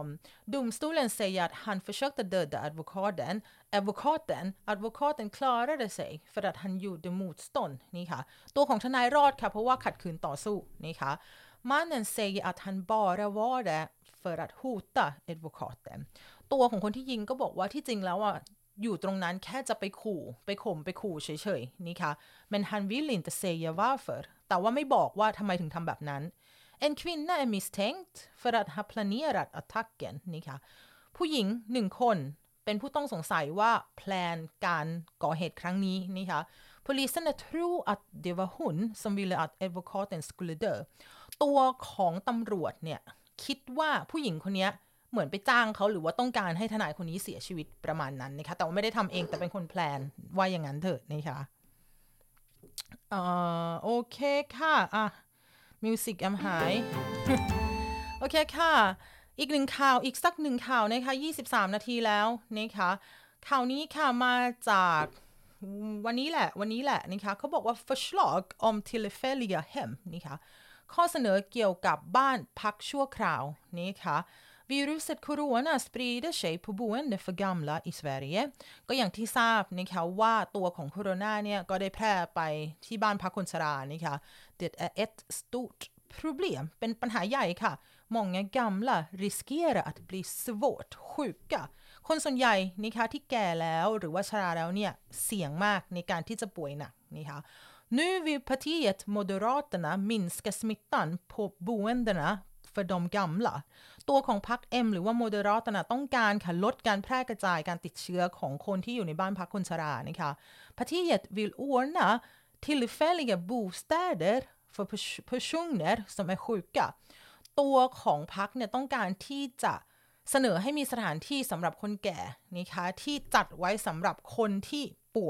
domstolen säger att han försökte döda advokaten advokaten advokaten klarade sig för att han gjorde motstånd นี่ค่ะตัวของทนายรอดค่ะเพราะว่าขัดขืนต่อสู้นี่ค่ะ mannen säger att han bara var där för att hota advokaten ตัวของคนที่ยิงก็บอกว่าที่จริงแล้วอ่ะอยู่ตรงนั้นแค่จะไปขู่ไปข่มไปขู่เฉยๆนี่ค่ะ men han vill inte säga varför แต่ว่าไม่บอกว่าทำไมถึงทำแบบนั้นEn kvinna är misstänkt för att ha planerat attacken นี่ค่ะผู้หญิงหนึ่งคนเป็นผู้ต้องสงสัยว่าแพลนการก่อเหตุครั้งนี้นี่ค่ะ Polisen tror att det var hon som ville att advokaten skulle dö ตัวของตำรวจเนี่ยคิดว่าผู้หญิงคนนี้เหมือนไปจ้างเขาหรือว่าต้องการให้ทนายคนนี้เสียชีวิตประมาณนั้นนะคะแต่ว่าไม่ได้ทำเองแต่เป็นคนแพลนว่าอย่างนั้นเถอะนะคะอ่าโอเคค่ะอ่ะมิวสิกแอมหาย โอเคค่ะอีกหนึ่งข่าวอีกสักหนึ่งข่าวนะคะยี่สิบสามนาทีแล้วนะคะข่าวนี้ค่ะมาจากวันนี้แหละวันนี้แหละนะคะเขาบอกว่า förslag om tillfälliga hem นะคะข้อเสนอเกี่ยวกับบ้านพักชั่วคราวนะคะViruset corona sprider sig på boende för gamla i Sverige ก็อย่างที่ทราบนะคะว่าตัวของโคโรนาเนี่ยก็ได้แพร่ไปที่บ้านพักคนชรานะคะ Det är ett stort problem เป็นปัญหาใหญ่ค่ะ Många gamla riskerar att bli svårt sjuka คนส่วนใหญ่นะคะที่แก่แล้วหรือว่าชราแล้วเนี่ยเสี่ยงมากในการที่จะป่วยหนักนะคะ Nu vill partiet Moderaterna minska smittan på boendena för de gamla ตัวของพรรค M หรือว่า Moderaterna ต้องการค่ะลดการแพร่กระจายการติดเชื้อของคนที่อยู่ในบ้านพักคนชรานะคะ Partiet vill ordna tillfälliga bostäder för personer som är sjuka ตัวของพรรคเนี่ยต้องการที่จะเสนอให้มีสถานที่สำหรับคนแก่นะคะที่จัดไว้สำหรับคนที่ป่วย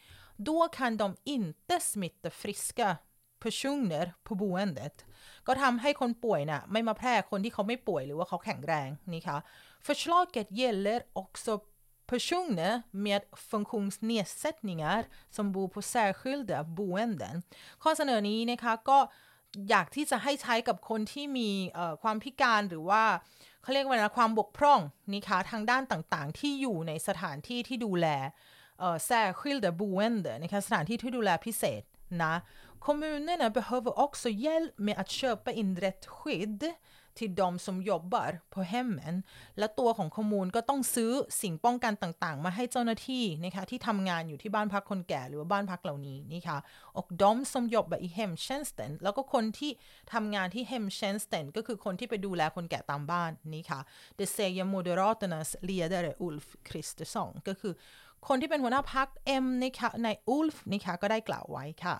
Då kan de inte smitta friska personer på boendet ก็ทำให้คนป่วยน่ะไม่มาแพร่คนที่เขาไม่ป่วยหรือว่าเขาแข็งแรงนี่ค่ะ Förslaget gäller också personer med funktionsnedsättningar som bor på särskilda boenden ข้อเสนอนี้นะคะก็อยากที่จะให้ใช้กับคนที่มีความพิการหรือว่าเขาเรียกว่านะความบกพร่องนะคะทางด้านต่างๆที่อยู่ในสถานที่ที่ดูแลเอ่อ särskilda boende นะคะสถานที่ที่ดูแลพิเศษนะ Kommunerna behöver också hjälp med att köpa in rätt skydd till de som jobbar på hemmen และตัวของคอมมูนก็ต้องซื้อสิ่งป้องกันต่างๆมาให้เจ้าหน้าที่นะคะที่ทำงานอยู่ที่บ้านพักคนแก่หรือว่าบ้านพักเหล่านี้นะคะ och de som jobbar i hemtjänsten แล้วก็คนที่ทำงานที่ hemtjänsten ก็คือคนที่ไปดูแลคนแก่ตามบ้านนะคะ det säger Moderaternas ledare Ulf Kristersson ก็คือคนที่เป็นหัวหน้าพรรค M นะคะใน Ulf นะคะก็ได้กล่าวไว้ค่ะ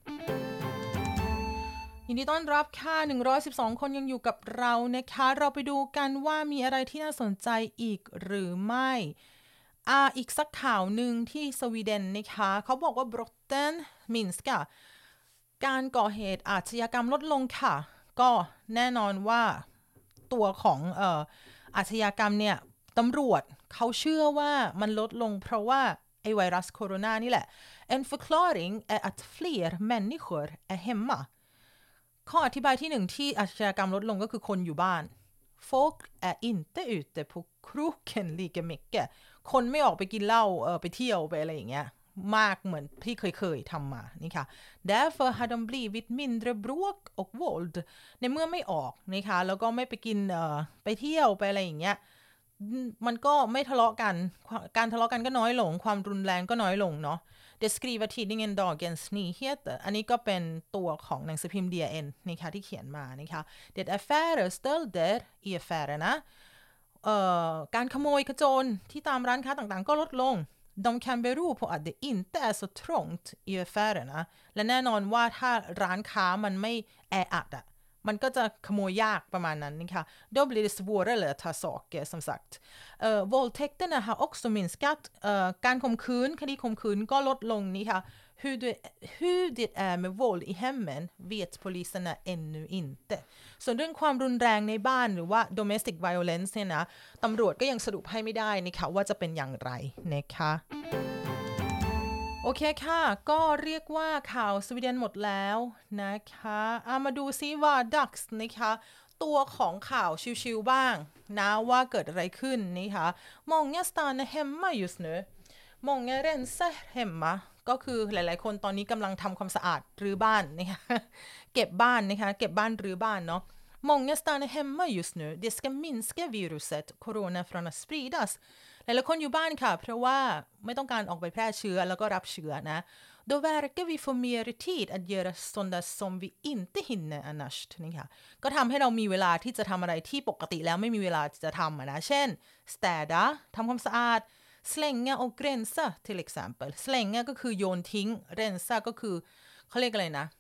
ยินดีต้อนรับค่ะหนึ่งร้อยสิบสองคนยังอยู่กับเรานะคะเราไปดูกันว่ามีอะไรที่น่าสนใจอีกหรือไม่อ่าอีกสักข่าวหนึ่งที่สวีเดนนะคะเขาบอกว่า brotten minskar การก่อเหตุอาชญากรรมลดลงค่ะก็แน่นอนว่าตัวของเอ่ออาชญากรรมเนี่ยตำรวจเขาเชื่อว่ามันลดลงเพราะว่าไอไวรัสโคโรนานี่แหละ En förklaring är att fler människor är hemmaข้ออธิบายที่หนึ่งที่อาชญากรรมลดลงก็คือคนอยู่บ้าน Folk är inte ute på krogen lika mycket คนไม่ออกไปกินเหล้าเออไปเที่ยวไปอะไรอย่างเงี้ยมากเหมือนที่เคยๆทำมานี่ค่ะ Därför har de blivit mindre bråk och våld ในเมื่อไม่ออกนะคะแล้วก็ไม่ไปกินเอ่อไปเที่ยวไปอะไรอย่างเงี้ยมันก็ไม่ทะเลาะกันการทะเลาะกันก็น้อยลงความรุนแรงก็น้อยลงเนาะDet skriver tidningen Dagens Nyheter อันนี้ก็เป็นตัวของหนังสือพิมพ์ ดี เอ็น นะคะที่เขียนมานะคะ Det är färre stölder i affärerna เอ่อการขโมยขโจรที่ตามร้านค้าต่างๆก็ลดลง De kan bero på att det inte är så trångt i affärerna และแน่นอนว่าถ้าร้านค้ามันไม่แออัดอะมันก็จะขโมยยากประมาณนั้นนะคะ Då blir det svårare att ta saker som sagt uh, våldtäkterna har också minskat uh, การข่มขืนคดีข่มขืนก็ลดลงนี่ค่ะ hur det, hur det är med våld i hemmen vet poliserna ännu inte ส่วนเรื่องความรุนแรงในบ้านหรือว่า domestic violence เนี่ยนะตำรวจก็ยังสรุปให้ไม่ได้นะคะว่าจะเป็นอย่างไรนะคะโอเคค่ะก็เรียกว่าข่าวสวีเดนหมดแล้วนะคะเอามาดูซิว่า ดักส์ นะคะตัวของข่าวชิวๆบ้างนะว่าเกิดอะไรขึ้นนะคะ Många stannar hemma just nu Många rensar hemma ก็คือหลายๆคนตอนนี้กำลังทำความสะอาดรื้อบ้านนะคะเก็บบ้านนะคะเก็บบ้านรื้อบ้านเนาะ Många stannar hemma just nu Det ska minska viruset corona från att spridasหลายๆคนอยู่บ้านค่ะเพราะว่าไม่ต้องการออกไปแพร่เชื้อแล้วก็รับเชื้อนะ Då verkar vi få mer tid att göra sådant som vi inte hinner annars นี่ค่ะก็ทำให้เรามีเวลาที่จะทำอะไรที่ปกติแล้วไม่มีเวลาจะทำนะเช่น städa ทำความสะอาด slänga och rensa till exempel slänga ก็คือโยนทิ้ง rensa ก็คือเขาเรียกอะไรนะ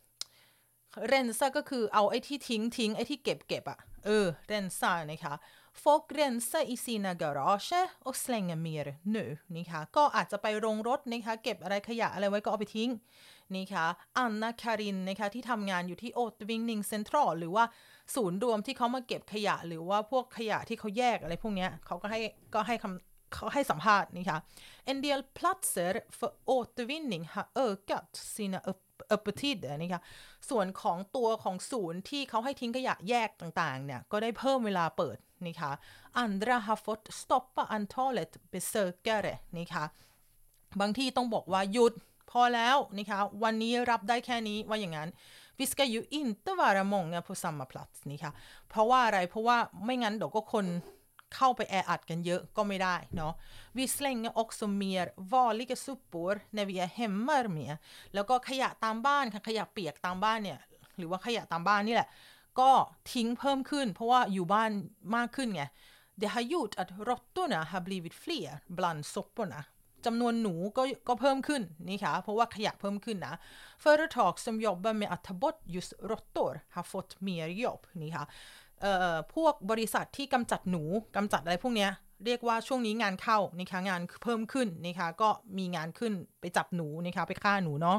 rensa ก็คือเอาไอ้ที่ทิ้งทิ้งไอ้ที่เก็บเก็บอะเออ rensa นะคะ Folk rensar i sina garage och slänger mer nu นะคะก็อาจจะไปโรงรถนะคะเก็บอะไรขยะอะไรไว้ก็เอาไปทิ้งนะคะอันนาคารินนะคะที่ทำงานอยู่ที่ Återvinning Central หรือว่าศูนย์รวมที่เขามาเก็บขยะหรือว่าพวกขยะที่เขาแยกอะไรพวกนี้เขาก็ให้ก็ให้คำเขาให้สัมภาษณ์นะคะ En del platser för återvinning har ökat sina upp öppettider นะคะส่วนของตัวของศูนย์ที่เขาให้ทิ้งขยะแยกต่างๆเนี่ยก็ได้เพิ่มเวลาเปิดนะคะ Andra har fått stoppa antalet besökare นะคะบางที่ต้องบอกว่าหยุดพอแล้วนะคะวันนี้รับได้แค่นี้ว่าอย่างนั้น Vi ska ju inte vara många på samma plats นะคะเพราะว่าอะไรเพราะว่าไม่งั้นเดี๋ยวก็คนเข้าไปแออัดกันเยอะก็ไม่ได้เนาะ Vi slänger också mer vanliga sopor när vi är hemma med แล้วก็ขยะตามบ้านค่ะขยะเปียกตามบ้านเนี่ยหรือว่าขยะตามบ้านนี่แหละก็ทิ้งเพิ่มขึ้นเพราะว่าอยู่บ้านมากขึ้นไง Det har gjort att råttorna har blivit fler bland soporna จำนวนหนูก็ก็เพิ่มขึ้นนี่ค่ะเพราะว่าขยะเพิ่มขึ้นนะ Företag som jobbar med att ta bort just råttor har fått mer jobb นี่ค่ะเอ่อพวกบริษัทที่กำจัดหนูกำจัดอะไรพวกเนี้ยเรียกว่าช่วงนี้งานเข้านะคะงานเพิ่มขึ้นนะคะก็มีงานขึ้นไปจับหนูนะคะไปฆ่าหนูเนาะ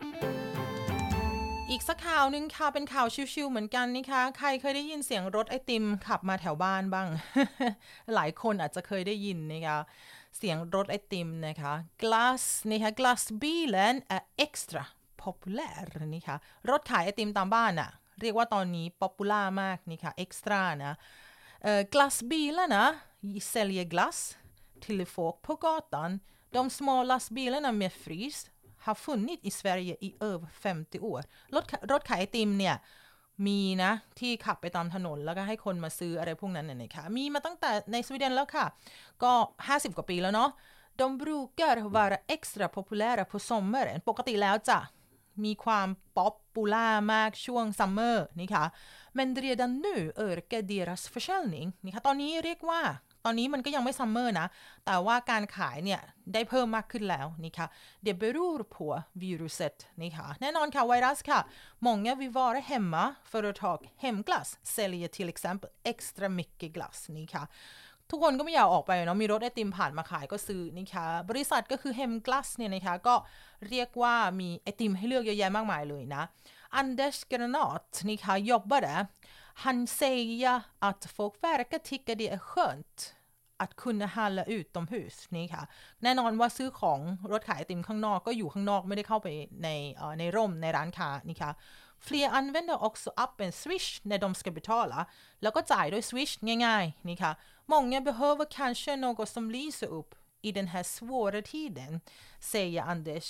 อีกสักข่าวนึงค่ะเป็นข่าวชิวๆเหมือนกันนะคะใครเคยได้ยินเสียงรถไอติมขับมาแถวบ้านบ้าง หลายคนอาจจะเคยได้ยินนะคะเสียงรถไอติมนะคะ glass นะคะ glassbilen är extra populär นะคะรถขายไอติมตามบ้านอะเรียกว่าตอนนี้ป๊อปปูล่ามากนี่ค่ะเอ็กซ์ตร้านะ Eh, glassbilarna säljer glass till folk på gatan. De små lastbilarna med frys har funnits i Sverige i över femtio årรถรถขายไอติมเนี่ยมีนะที่ขับไปตามถนนแล้วก็ให้คนมาซื้ออะไรพวกนั้นเนี่ยนะคะมีมาตั้งแต่ในสวีเดนแล้วค่ะก็ห้าสิบกว่าปีแล้วเนาะ De brukar vara extra populära på sommaren ปกติแล้วจะมีความป๊อปปูล่ามากช่วงซัมเมอร์นี่ค่ะ men redan nu ökar deras försäljning นี่ค่ะตอนนี้เรียกว่าตอนนี้มันก็ยังไม่ซัมเมอร์นะแต่ว่าการขายเนี่ยได้เพิ่มมากขึ้นแล้วนี่ค่ะ det beror på viruset นี่ค่ะแน่นอนค่ะไวรัสค่ะ många vill vara hemma företag hemglass säljer till exempel extra mycket glass นี่ค่ะทุกคนก็ไม่อยากออกไปเนาะมีรถไอติมผ่านมาขายก็ซื้อนี่ค่ะบริษัทก็คือ Hemglass เนี่ยนะคะก็เรียกว่ามีไอติมให้เลือกเยอะแยะมากมายเลยนะ Anders Granat นี่ค่ะ jobbade han säger att folk verkar tycka det är skönt att kunna handla utomhus นี่ค่ะแน่นอนว่าซื้อของรถขายไอติมข้างนอกก็อยู่ข้างนอกไม่ได้เข้าไปในเอ่อในร่มในร้านค้านี่ค่ะFler använder också appen Swish när de ska betala แล้วก็จ่ายด้วย Swish ง่ายๆนี่ค่ะ Många behöver kanske något som lyser upp i den här svåra tiden säger Anders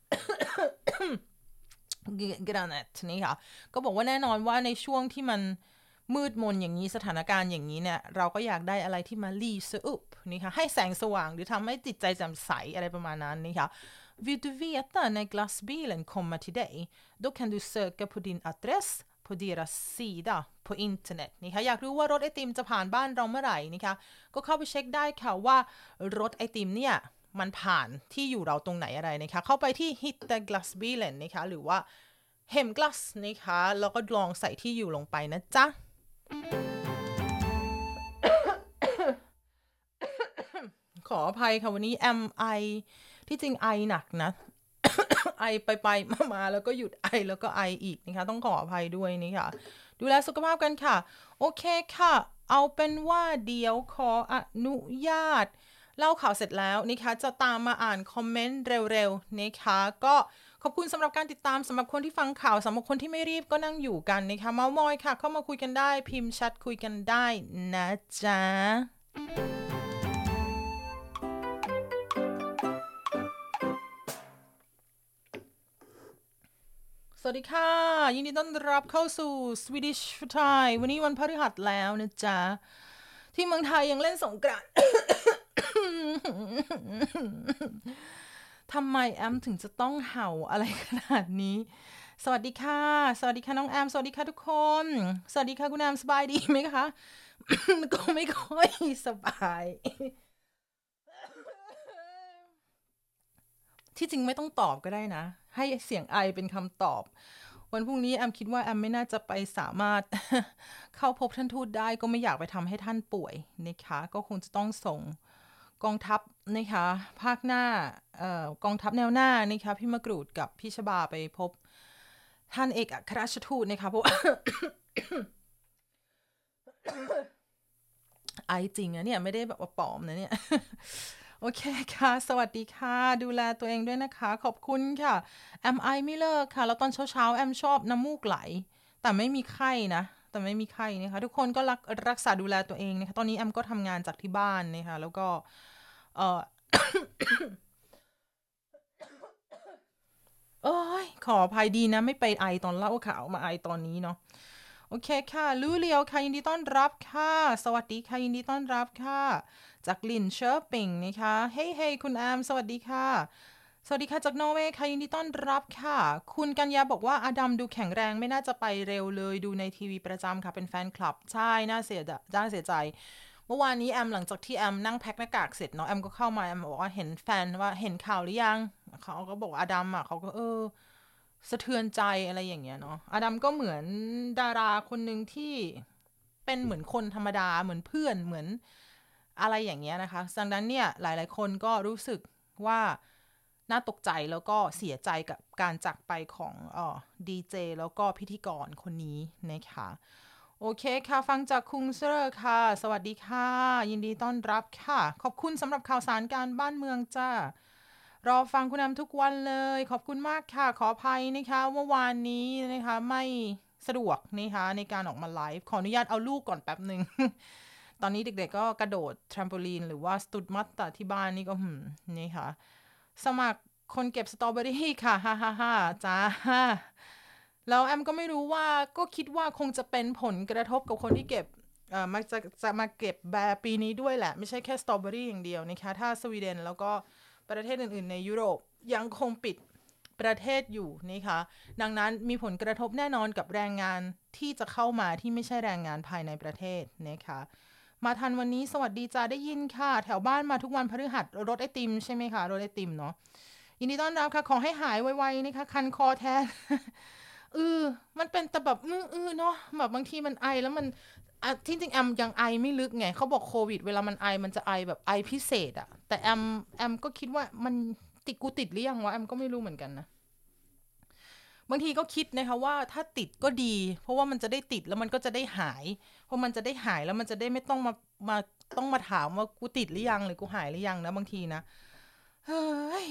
Granet นี่ค่ะก็บอกว่าแน่นอนว่าในช่วงที่มันมืดมนอย่างนี้สถานการณ์อย่างนี้เนี่ยเราก็อยากได้อะไรที่มา lyser upp นี่ค่ะให้แสงสว่างหรือทำให้จิตใจแจ่มใสอะไรประมาณนั้นนี่ค่ะVill du veta när glassbilen kommer till dig? Då kan du söka på din adress på deras sida på internet นี่ค่ะอยากรู้ว่ารถไอติมจะผ่านบ้านเราเมื่อไหร่นี่ค่ะก็เข้าไปเช็คได้ค่ะว่ารถไอติมเนี่ยมันผ่านที่อยู่เราตรงไหนอะไรนะคะเข้าไปที่ Hitta glassbilen นะคะหรือว่า Hemglass นะคะแล้วก็ลองใส่ที่อยู่ลงไปนะจ๊ะขออภัยค่ะวันนี้ am I ที่จริงไอหนักนะ ไอไปไปมามาแล้วก็หยุดไอแล้วก็ไออีกนะคะต้องขออภัยด้วยนี่ค่ะดูแลสุขภาพกันค่ะโอเคค่ะเอาเป็นว่าเดี๋ยวขออนุญาตเล่าข่าวเสร็จแล้วนะคะจะตามมาอ่านคอมเมนต์เร็วๆนะคะก็ขอบคุณสำหรับการติดตามสำหรับคนที่ฟังข่าวสำหรับคนที่ไม่รีบก็นั่งอยู่กันนะคะเมามอยค่ะเข้ามาคุยกันได้พิมพ์แชทคุยกันได้นะจ๊ะสวัสดีค่ะยินดีต้อนรับเข้าสู่ Swedish for Thai วันนี้วันพฤหัสแล้วนะจ๊ะที่เมืองไทยยังเล่นสงกรานต์ ทำไมแอมถึงจะต้องเห่าอะไรขนาดนี้สวัสดีค่ะสวัสดีค่ะน้องแอมสวัสดีค่ะทุกคนสวัสดีค่ะคุณแอมสบายดีไหมคะ ก็ไม่ค่อยสบายที่จริงไม่ต้องตอบก็ได้นะให้เสียงไอเป็นคำตอบวันพรุ่งนี้แอมคิดว่าแอมไม่น่าจะไปสามารถ เข้าพบท่านทูตได้ก็ไม่อยากไปทำให้ท่านป่วยนะคะก็คงจะต้องส่งกองทัพนะคะภาคหน้าเอ่อกองทัพแนวหน้านะคะพี่มะกรูดกับพี่ชบาไปพบท่านเอกอัครราชทูตนะคะเพราะ ไอจริงนะเนี่ยไม่ได้แบบว่าปลอมนะเนี่ย โอเคค่ะสวัสดีค่ะดูแลตัวเองด้วยนะคะขอบคุณค่ะแอมไอไม่เลิกค่ะแล้วตอนเช้าๆแอมชอบน้ำมูกไหลแต่ไม่มีไข้นะแต่ไม่มีไข้นะคะทุกคนก็รักรักษาดูแลตัวเองนะคะตอนนี้แอมก็ทำงานจากที่บ้านนะคะแล้วก็เออ โอ้ยขออภัยดีนะไม่ไปไอตอนเล่าข่าวมาไอตอนนี้เนาะโอเคค่ะลูเลียวค่ะยินดีต้อนรับค่ะสวัสดีค่ะยินดีต้อนรับค่ะจากลินเชอร์ปิงนะคะเฮ้ยเฮ้ยคุณแอมสวัสดีค่ะสวัสดีค่ะจากนอร์เวย์ค่ะยินดีต้อนรับค่ะคุณกัญญาบอกว่าอดัมดูแข็งแรงไม่น่าจะไปเร็วเลยดูในทีวีประจำค่ะเป็นแฟนคลับใช่น่าเสียน่าเสียใจเมื่อวานนี้แอมหลังจากที่แอมนั่งแพ็คหน้ากากเสร็จเนาะแอมก็เข้ามาแอมบอกว่าเห็นแฟนว่าเห็นข่าวหรือยังเขาก็บอกอดัมอ่ะเขาก็เออสะเทือนใจอะไรอย่างเงี้ยเนาะอดัมก็เหมือนดาราคนหนึ่งที่เป็นเหมือนคนธรรมดาเหมือนเพื่อนเหมือนอะไรอย่างเงี้ยนะคะดังนั้นเนี่ยหลายๆคนก็รู้สึกว่าน่าตกใจแล้วก็เสียใจกับการจากไปของเอ่อดีเจแล้วก็พิธีกรคนนี้นะคะโอเคค่ะฟังจากคุงเซอร์ค่ะสวัสดีค่ะยินดีต้อนรับค่ะขอบคุณสำหรับข่าวสารการบ้านเมืองจ้ารอฟังคุณแอมทุกวันเลยขอบคุณมากค่ะขออภัยนะคะเมื่อวานนี้นะคะไม่สะดวกนะคะในการออกมาไลฟ์ขออนุญาตเอาลูกก่อนแป๊บหนึ่งตอนนี้เด็กๆก็กระโดดแทรมโปลีนหรือว่าสตูดมัตตาที่บ้านนี่ก็หืมนี่ค่ะสมัครคนเก็บสตรอเบอรี่ค่ะฮ่าฮ่าฮ่าจ้าแล้วแอมก็ไม่รู้ว่าก็คิดว่าคงจะเป็นผลกระทบกับคนที่เก็บเอ่อมาจะจะมาเก็บแบร์ปีนี้ด้วยแหละไม่ใช่แค่สตรอเบอรี่อย่างเดียวนะคะถ้าสวีเดนแล้วก็ประเทศอื่นๆในยุโรปยังคงปิดประเทศอยู่นะคะดังนั้นมีผลกระทบแน่นอนกับแรงงานที่จะเข้ามาที่ไม่ใช่แรงงานภายในประเทศนะคะมาทันวันนี้สวัสดีจ้าได้ยินค่ะแถวบ้านมาทุกวันพฤหัสรถไอติมใช่ไหมคะรถไอติมเนาะยินดีต้อนรับค่ะขอให้หายไวๆนะคะคันคอแทนเออมันเป็นแต่แบบอือๆเนาะแบบบางทีมันไอแล้วมันอ่ะที่จริงแอมยังไอไม่ลึกไงเขาบอกโควิดเวลามันไอมันจะไอแบบไอพิเศษอะแต่แอมแอมก็คิดว่ามันติดกูติดหรือยังวะแอมก็ไม่รู้เหมือนกันนะบางทีก็คิดนะคะว่าถ้าติดก็ดีเพราะว่ามันจะได้ติดแล้วมันก็จะได้หายเพราะมันจะได้หายแล้วมันจะได้ไม่ต้องมามาต้องมาถามว่ากูติดหรือยังหรือกูหายหรือยังนะบางทีนะเฮ้ย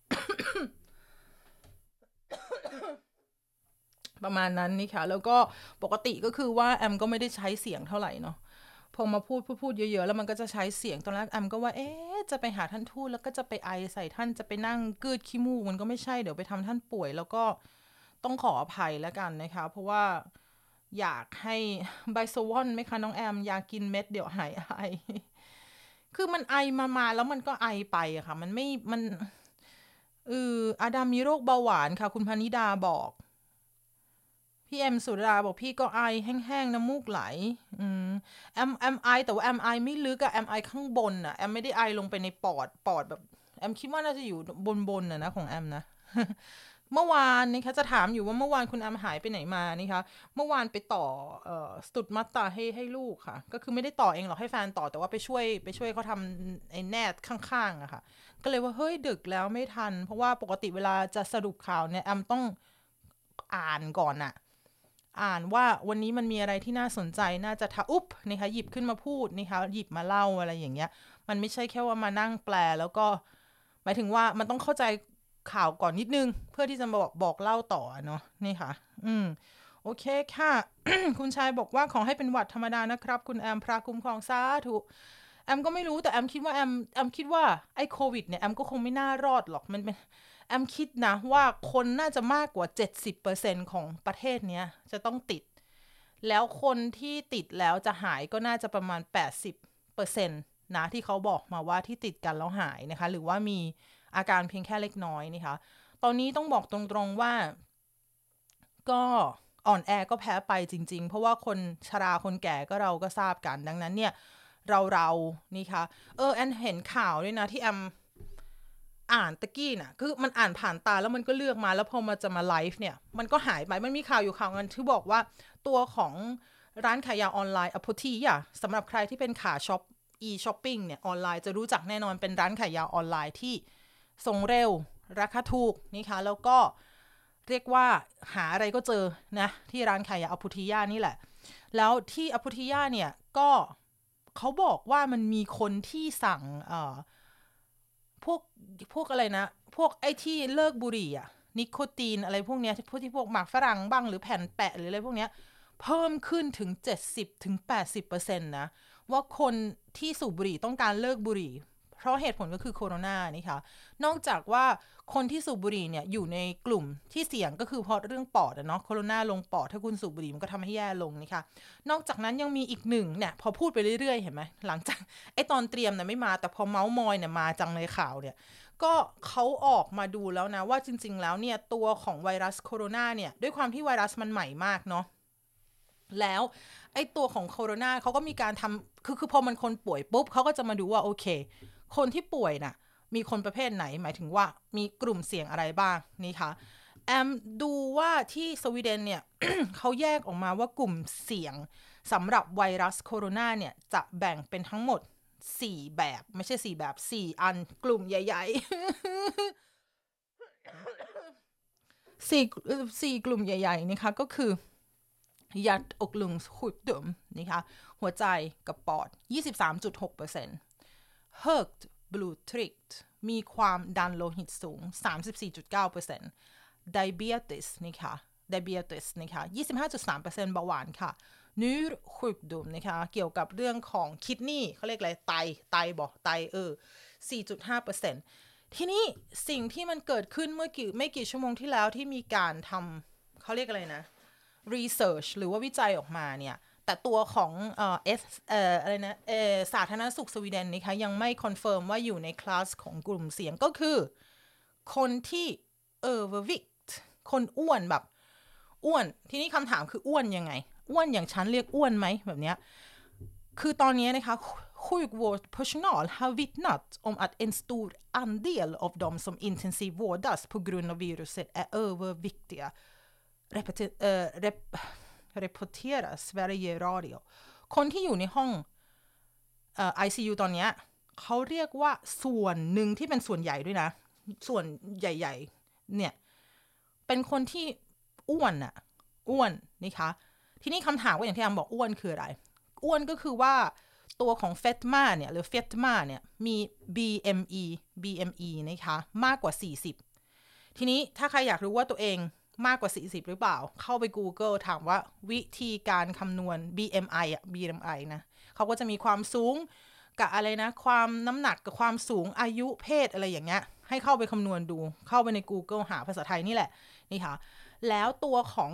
ประมาณนั้นนี่ค่ะแล้วก็ปกติก็คือว่าแอมก็ไม่ได้ใช้เสียงเท่าไหร่เนาะพอมาพูดพูดพูดเยอะๆแล้วมันก็จะใช้เสียงตอนแรกแอมก็ว่าเอ๊ะจะไปหาท่านทูตแล้วก็จะไปไอใส่ท่านจะไปนั่งกืดขี้มูกมันก็ไม่ใช่เดี๋ยวไปทำท่านป่วยแล้วก็ต้องขออภัยแล้วกันนะคะเพราะว่าอยากให้ไบโซวอนไหมคะน้องแอมอยากกินเม็ดเดี๋ยวหายไอคือมันไอมามาแล้วมันก็ไอไปอะค่ะมันไม่มันเอออาดามมีโรคเบาหวานค่ะคุณพนิดาบอกพี่เอ็มสุดาบอกพี่ก็ไอแห้งๆน้ำมูกไหลอืมแอมแอมไอแต่ว่าแอมไอไม่ลึกอะแอมไอข้างบนอะแอมไม่ได้ไอลงไปในปอดปอดแบบแอมคิดว่าน่าจะอยู่บนบนอะนะของแอมนะ เมื่อวานนี่คะจะถามอยู่ว่าเมื่อวานคุณแอมหายไปไหนมานี่คะเมื่อวานไปต่อเอ่อสตุดมัตตาให้ให้ลูกค่ะก็คือไม่ได้ต่อเองหรอกให้แฟนต่อแต่ว่าไปช่วยไปช่วยเขาทำไอ้แนทข้างๆอะค่ะก็เลยว่าเฮ้ยดึกแล้วไม่ทันเพราะว่าปกติเวลาจะสรุปข่าวเนี่ยแอมต้องอ่านก่อนอะอ่านว่าวันนี้มันมีอะไรที่น่าสนใจน่าจะทะอุ๊บนะคะหยิบขึ้นมาพูดนะคะหยิบมาเล่าอะไรอย่างเงี้ยมันไม่ใช่แค่ว่ามานั่งแปลแล้วก็หมายถึงว่ามันต้องเข้าใจข่าวก่อนนิดนึงเพื่อที่จะมาบอกบอกเล่าต่อเนาะนี่ค่ะอืมโอเคค่ะ คุณชายบอกว่าขอให้เป็นหวัดธรรมดานะครับคุณแอมพระคุ้มครองสาธุแอมก็ไม่รู้แต่แอมคิดว่าแอมแอมคิดว่าไอ้โควิดเนี่ยแอมก็คงไม่น่ารอดหรอกมันเป็นแอมคิดนะว่าคนน่าจะมากกว่าเจ็ดสิบเปอร์เซ็นต์ของประเทศเนี้ยจะต้องติดแล้วคนที่ติดแล้วจะหายก็น่าจะประมาณแปดสิบเปอร์เซ็นต์นะที่เขาบอกมาว่าที่ติดกันแล้วหายนะคะหรือว่ามีอาการเพียงแค่เล็กน้อยนะคะตอนนี้ต้องบอกตรงๆว่าก็อ่อนแอก็แพ้ไปจริงๆเพราะว่าคนชราคนแก่ก็เราก็ทราบกันดังนั้นเนี่ยเราเรานี่ค่ะเออแอนเห็นข่าวด้วยนะที่แอมอ่านตะกี้น่ะคือมันอ่านผ่านตาแล้วมันก็เลือกมาแล้วพอมาจะมาไลฟ์เนี่ยมันก็หายไปมันมีข่าวอยู่ข่าวนึงที่บอกว่าตัวของร้านขายยาออนไลน์อ p พ t อ่ะสำหรับใครที่เป็นขาช็อป e-shopping เนี่ยออนไลน์จะรู้จักแน่นอนเป็นร้านขายยาออนไลน์ที่ส่งเร็วราคาถูกนี่ค่ะแล้วก็เรียกว่าหาอะไรก็เจอนะที่ร้านขายยาอ p พ t ยานี่แหละแล้วที่อ p พ t ยาเนี่ยก็เขาบอกว่ามันมีคนที่สั่งเอ่อพวกพวกอะไรนะพวกไอ้ที่เลิกบุหรี่อะนิโคตีนอะไรพวกเนี้ยพวกที่พวกหมากฝรั่งบ้างหรือแผ่นแปะหรืออะไรพวกเนี้ยเพิ่มขึ้นถึง เจ็ดสิบถึงแปดสิบเปอร์เซ็นต์ นะว่าคนที่สูบบุหรี่ต้องการเลิกบุหรี่เพราะเหตุผลก็คือโควิดนี่ค่ะนอกจากว่าคนที่สูบบุหรี่เนี่ยอยู่ในกลุ่มที่เสี่ยงก็คือเพราะเรื่องปอดอะเนาะโควิดลงปอดถ้าคุณสูบบุหรี่มันก็ทำให้แย่ลงนี่ค่ะนอกจากนั้นยังมีอีกหนึ่งเนี่ยพอพูดไปเรื่อยๆเห็นไหมหลังจากไอ้ตอนเตรียมเนี่ยไม่มาแต่พอเมาส์มอยเนี่ยมาจังในข่าวเนี่ยก็เขาออกมาดูแล้วนะว่าจริงๆแล้วเนี่ยตัวของไวรัสโคโรนาเนี่ยด้วยความที่ไวรัสมันใหม่มากเนาะแล้วไอ้ตัวของโคโรนาเขาก็มีการทำคือคือพอมันคนป่วยปุ๊บเขาก็จะมาดูว่าโอเคคนที่ป่วยน่ะมีคนประเภทไหนหมายถึงว่ามีกลุ่มเสี่ยงอะไรบ้างนี่ค่ะแอมดูว่าที่สวีเดนเนี่ย เขาแยกออกมาว่ากลุ่มเสี่ยงสำหรับไวรัสโคโรนาเนี่ยจะแบ่งเป็นทั้งหมดสี่แบบไม่ใช่สี่แบบสี่อันกลุ่มใหญ่ๆสี่สี่กลุ่มใหญ่ๆนะคะก็คือยัดอกลุงหุดดมนะคะหัวใจกับปอด ยี่สิบสามจุดหกเปอร์เซ็นต์ Högt blodtryck มีความดันโลหิตสูง สามสิบสี่จุดเก้าเปอร์เซ็นต์ Diabetes นะคะ Diabetes นะคะ ยี่สิบห้าจุดสามเปอร์เซ็นต์ เบาหวานค่ะ njursjukdom นะคะเกี่ยวกับเรื่องของคิดนีเขาเรียกอะไรไตไตบอกไตเออ สี่จุดห้าเปอร์เซ็นต์ ทีนี้สิ่งที่มันเกิดขึ้นเมื่อกี่ไม่กี่ชั่วโมงที่แล้วที่มีการทำเขาเรียกอะไรนะ research หรือว่าวิจัยออกมาเนี่ยแต่ตัวของเอ่อเอสเอ่ออะไรนะเอ่อสาธารณสุขสวีเดนนะคะยังไม่คอนเฟิร์มว่าอยู่ในคลาสของกลุ่มเสี่ยงก็คือคนที่เออ overweight คนอ้วนแบบอ้วนทีนี้คำถามคืออ้วนยังไงอ้วนอย่างฉันเรียกอ้วนไหมแบบเนี้ยคือตอนนี้นะคะ sjukvårdspersonal har vittnat om att en stor andel av de som intensivvårdas på grund av viruset är överviktiga Repeti- เอ่อ rep- reporterar Sverige Radio คนที่อยู่ในห้องเอ่อ ไอ ซี ยู ตอนเนี้ยเขาเรียกว่าส่วนหนึ่งที่เป็นส่วนใหญ่ด้วยนะส่วนใหญ่ๆเนี่ยเป็นคนที่อ้วนน่ะอ้วนนะคะทีนี้คำถามว่าอย่างที่อามบอกอ้วนคืออะไรอ้วนก็คือว่าตัวของเฟตมาเนี่ยหรือเฟตมาเนี่ยมี บี เอ็ม อี บี เอ็ม อี นะคะมากกว่าสี่สิบทีนี้ถ้าใครอยากรู้ว่าตัวเองมากกว่าสี่สิบหรือเปล่าเข้าไป Google ถามว่าวิธีการคำนวณ บี เอ็ม ไอ อ่ะ บี เอ็ม ไอ นะเขาก็จะมีความสูงกับอะไรนะความน้ำหนักกับความสูงอายุเพศอะไรอย่างเงี้ยให้เข้าไปคำนวณดูเข้าไปใน Google หาภาษาไทยนี่แหละนี่ค่ะแล้วตัวของ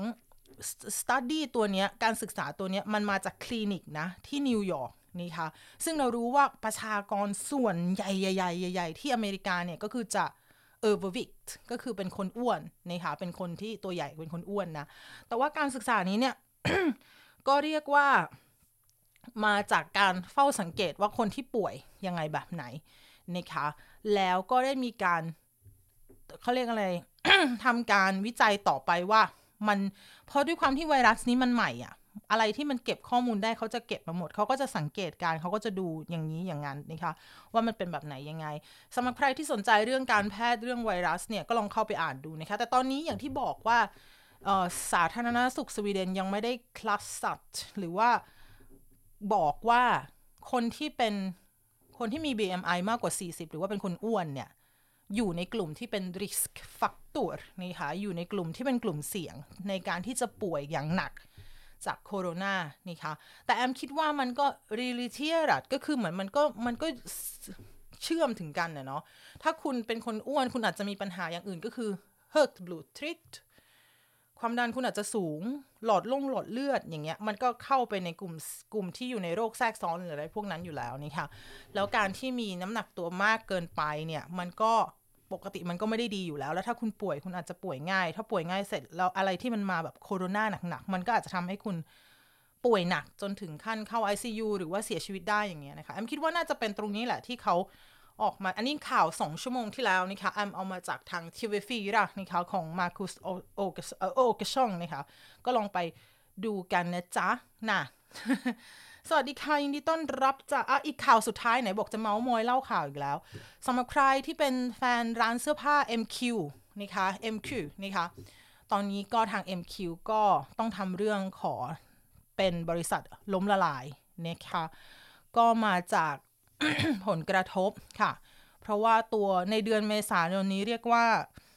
study ตัวเนี้ยการศึกษาตัวเนี้ยมันมาจากคลินิกนะที่นิวยอร์กนี่ค่ะซึ่งเรารู้ว่าประชากรส่วนใหญ่ๆๆๆที่อเมริกาเนี่ยก็คือจะoverweight ก็คือเป็นคนอ้วนนะคะเป็นคนที่ตัวใหญ่เป็นคนอ้วนนะแต่ว่าการศึกษานี้เนี่ย ก็เรียกว่ามาจากการเฝ้าสังเกตว่าคนที่ป่วยยังไงแบบไหนนะคะแล้วก็ได้มีการเขาเรียกอะไร ทำการวิจัยต่อไปว่ามันเพราะด้วยความที่ไวรัสนี้มันใหม่อ่ะอะไรที่มันเก็บข้อมูลได้เขาจะเก็บมาหมดเขาก็จะสังเกตการเขาก็จะดูอย่างนี้อย่างนั้นนะคะว่ามันเป็นแบบไหนยังไงสำหรับใครที่สนใจเรื่องการแพทย์เรื่องไวรัสเนี่ยก็ลองเข้าไปอ่านดูนะคะแต่ตอนนี้อย่างที่บอกว่าสาธารณสุขสวีเดนยังไม่ได้คลัสสัตหรือว่าบอกว่าคนที่เป็นคนที่มี บี เอ็ม ไอ มากกว่าสี่สิบหรือว่าเป็นคนอ้วนเนี่ยอยู่ในกลุ่มที่เป็น risk factor นี่ค่ะอยู่ในกลุ่มที่เป็นกลุ่มเสี่ยงในการที่จะป่วยอย่างหนักจากโคโรนานี่ค่ะแต่แอมคิดว่ามันก็ related ก็คือเหมือนมันก็มันก็เชื่อมถึงกันนะเนาะถ้าคุณเป็นคนอ้วนคุณอาจจะมีปัญหาอย่างอื่นก็คือ högt blodtryck ความดันคุณอาจจะสูงหลอดลงหลอดเลือดอย่างเงี้ยมันก็เข้าไปในกลุ่มกลุ่มที่อยู่ในโรคแทรกซ้อนหรืออะไรพวกนั้นอยู่แล้วนี่ค่ะแล้วการที่มีน้ำหนักตัวมากเกินไปเนี่ยมันก็ปกติมันก็ไม่ได้ดีอยู่แล้วแล้วถ้าคุณป่วยคุณอาจจะป่วยง่ายถ้าป่วยง่ายเสร็จแล้วอะไรที่มันมาแบบโคโรนาหนักๆมันก็อาจจะทำให้คุณป่วยหนักจนถึงขั้นเข้า ไอ ซี ยู หรือว่าเสียชีวิตได้อย่างเงี้ยนะคะแอมคิดว่าน่าจะเป็นตรงนี้แหละที่เขาออกมาอันนี้ข่าวสองชั่วโมงที่แล้วนะคะแอมเอามาจากทาง ที วี โฟร์ นะคะของมาร์คุสโอเกโอเกชองนะคะก็ลองไปดูกันนะจ๊ะนะ สวัสดีค่ะยินดีต้อนรับจากอ่ะอีกข่าวสุดท้ายไหนบอกจะเมาส์มอยเล่าข่าวอีกแล้วสำหรับใครที่เป็นแฟนร้านเสื้อผ้า เอ็ม คิว นะคะ เอ็ม คิว นะคะตอนนี้ก็ทาง เอ็ม คิว ก็ต้องทำเรื่องขอเป็นบริษัทล้มละลายนะคะก็มาจาก ผลกระทบค่ะเพราะว่าตัวในเดือนเมษายนนี้เรียกว่า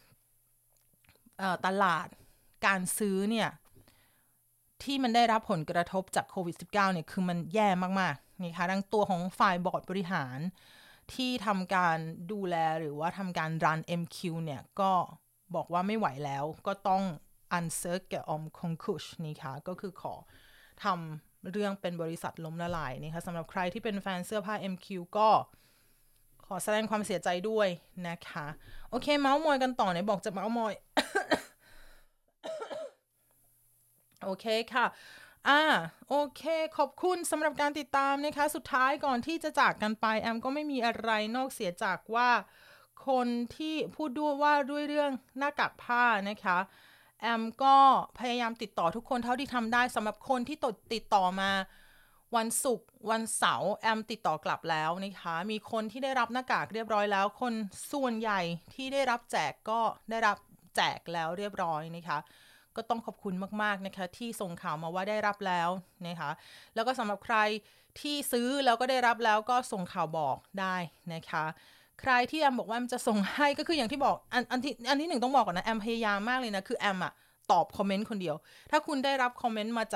ตลาดการซื้อเนี่ยที่มันได้รับผลกระทบจากโควิด สิบเก้า เนี่ยคือมันแย่มากๆนี่ค่ะดังตัวของฝ่ายบอร์ดบริหารที่ทำการดูแลหรือว่าทำการรัน เอ็ม คิว เนี่ยก็บอกว่าไม่ไหวแล้วก็ต้อง ansöka om konkurs นี่ค่ะก็คือขอทำเรื่องเป็นบริษัทล้มละลายนะคะสำหรับใครที่เป็นแฟนเสื้อผ้า เอ็ม คิว ก็ขอแสดงความเสียใจด้วยนะคะโอเคเมาส์มอยกันต่อไหนบอกจะเมาส์มอย โอเคค่ะอ่าโอเคขอบคุณสำหรับการติดตามนะคะสุดท้ายก่อนที่จะจากกันไปแอมก็ไม่มีอะไรนอกเสียจากว่าคนที่พูดด้วยว่าด้วยเรื่องหน้ากากผ้านะคะแอมก็พยายามติดต่อทุกคนเท่าที่ทำได้สำหรับคนที่ติดต่อมาวันศุกร์วันเสาร์แอมติดต่อกลับแล้วนะคะมีคนที่ได้รับหน้ากากเรียบร้อยแล้วคนส่วนใหญ่ที่ได้รับแจกก็ได้รับแจกแล้วเรียบร้อยนะคะก็ต้องขอบคุณมากๆนะคะที่ส่งข่าวมาว่าได้รับแล้วนะคะแล้วก็สำหรับใครที่ซื้อแล้วก็ได้รับแล้วก็ส่งข่าวบอกได้นะคะใครที่แอมบอกว่าแอมจะส่งให้ก็คืออย่างที่บอกอันอันที่อันที่หนึ่งต้องบอกก่อนนะแอมพยายามมากเลยนะคือแอมอะตอบคอมเมนต์คนเดียวถ้าคุณได้รับคอมเมนต์มาจาก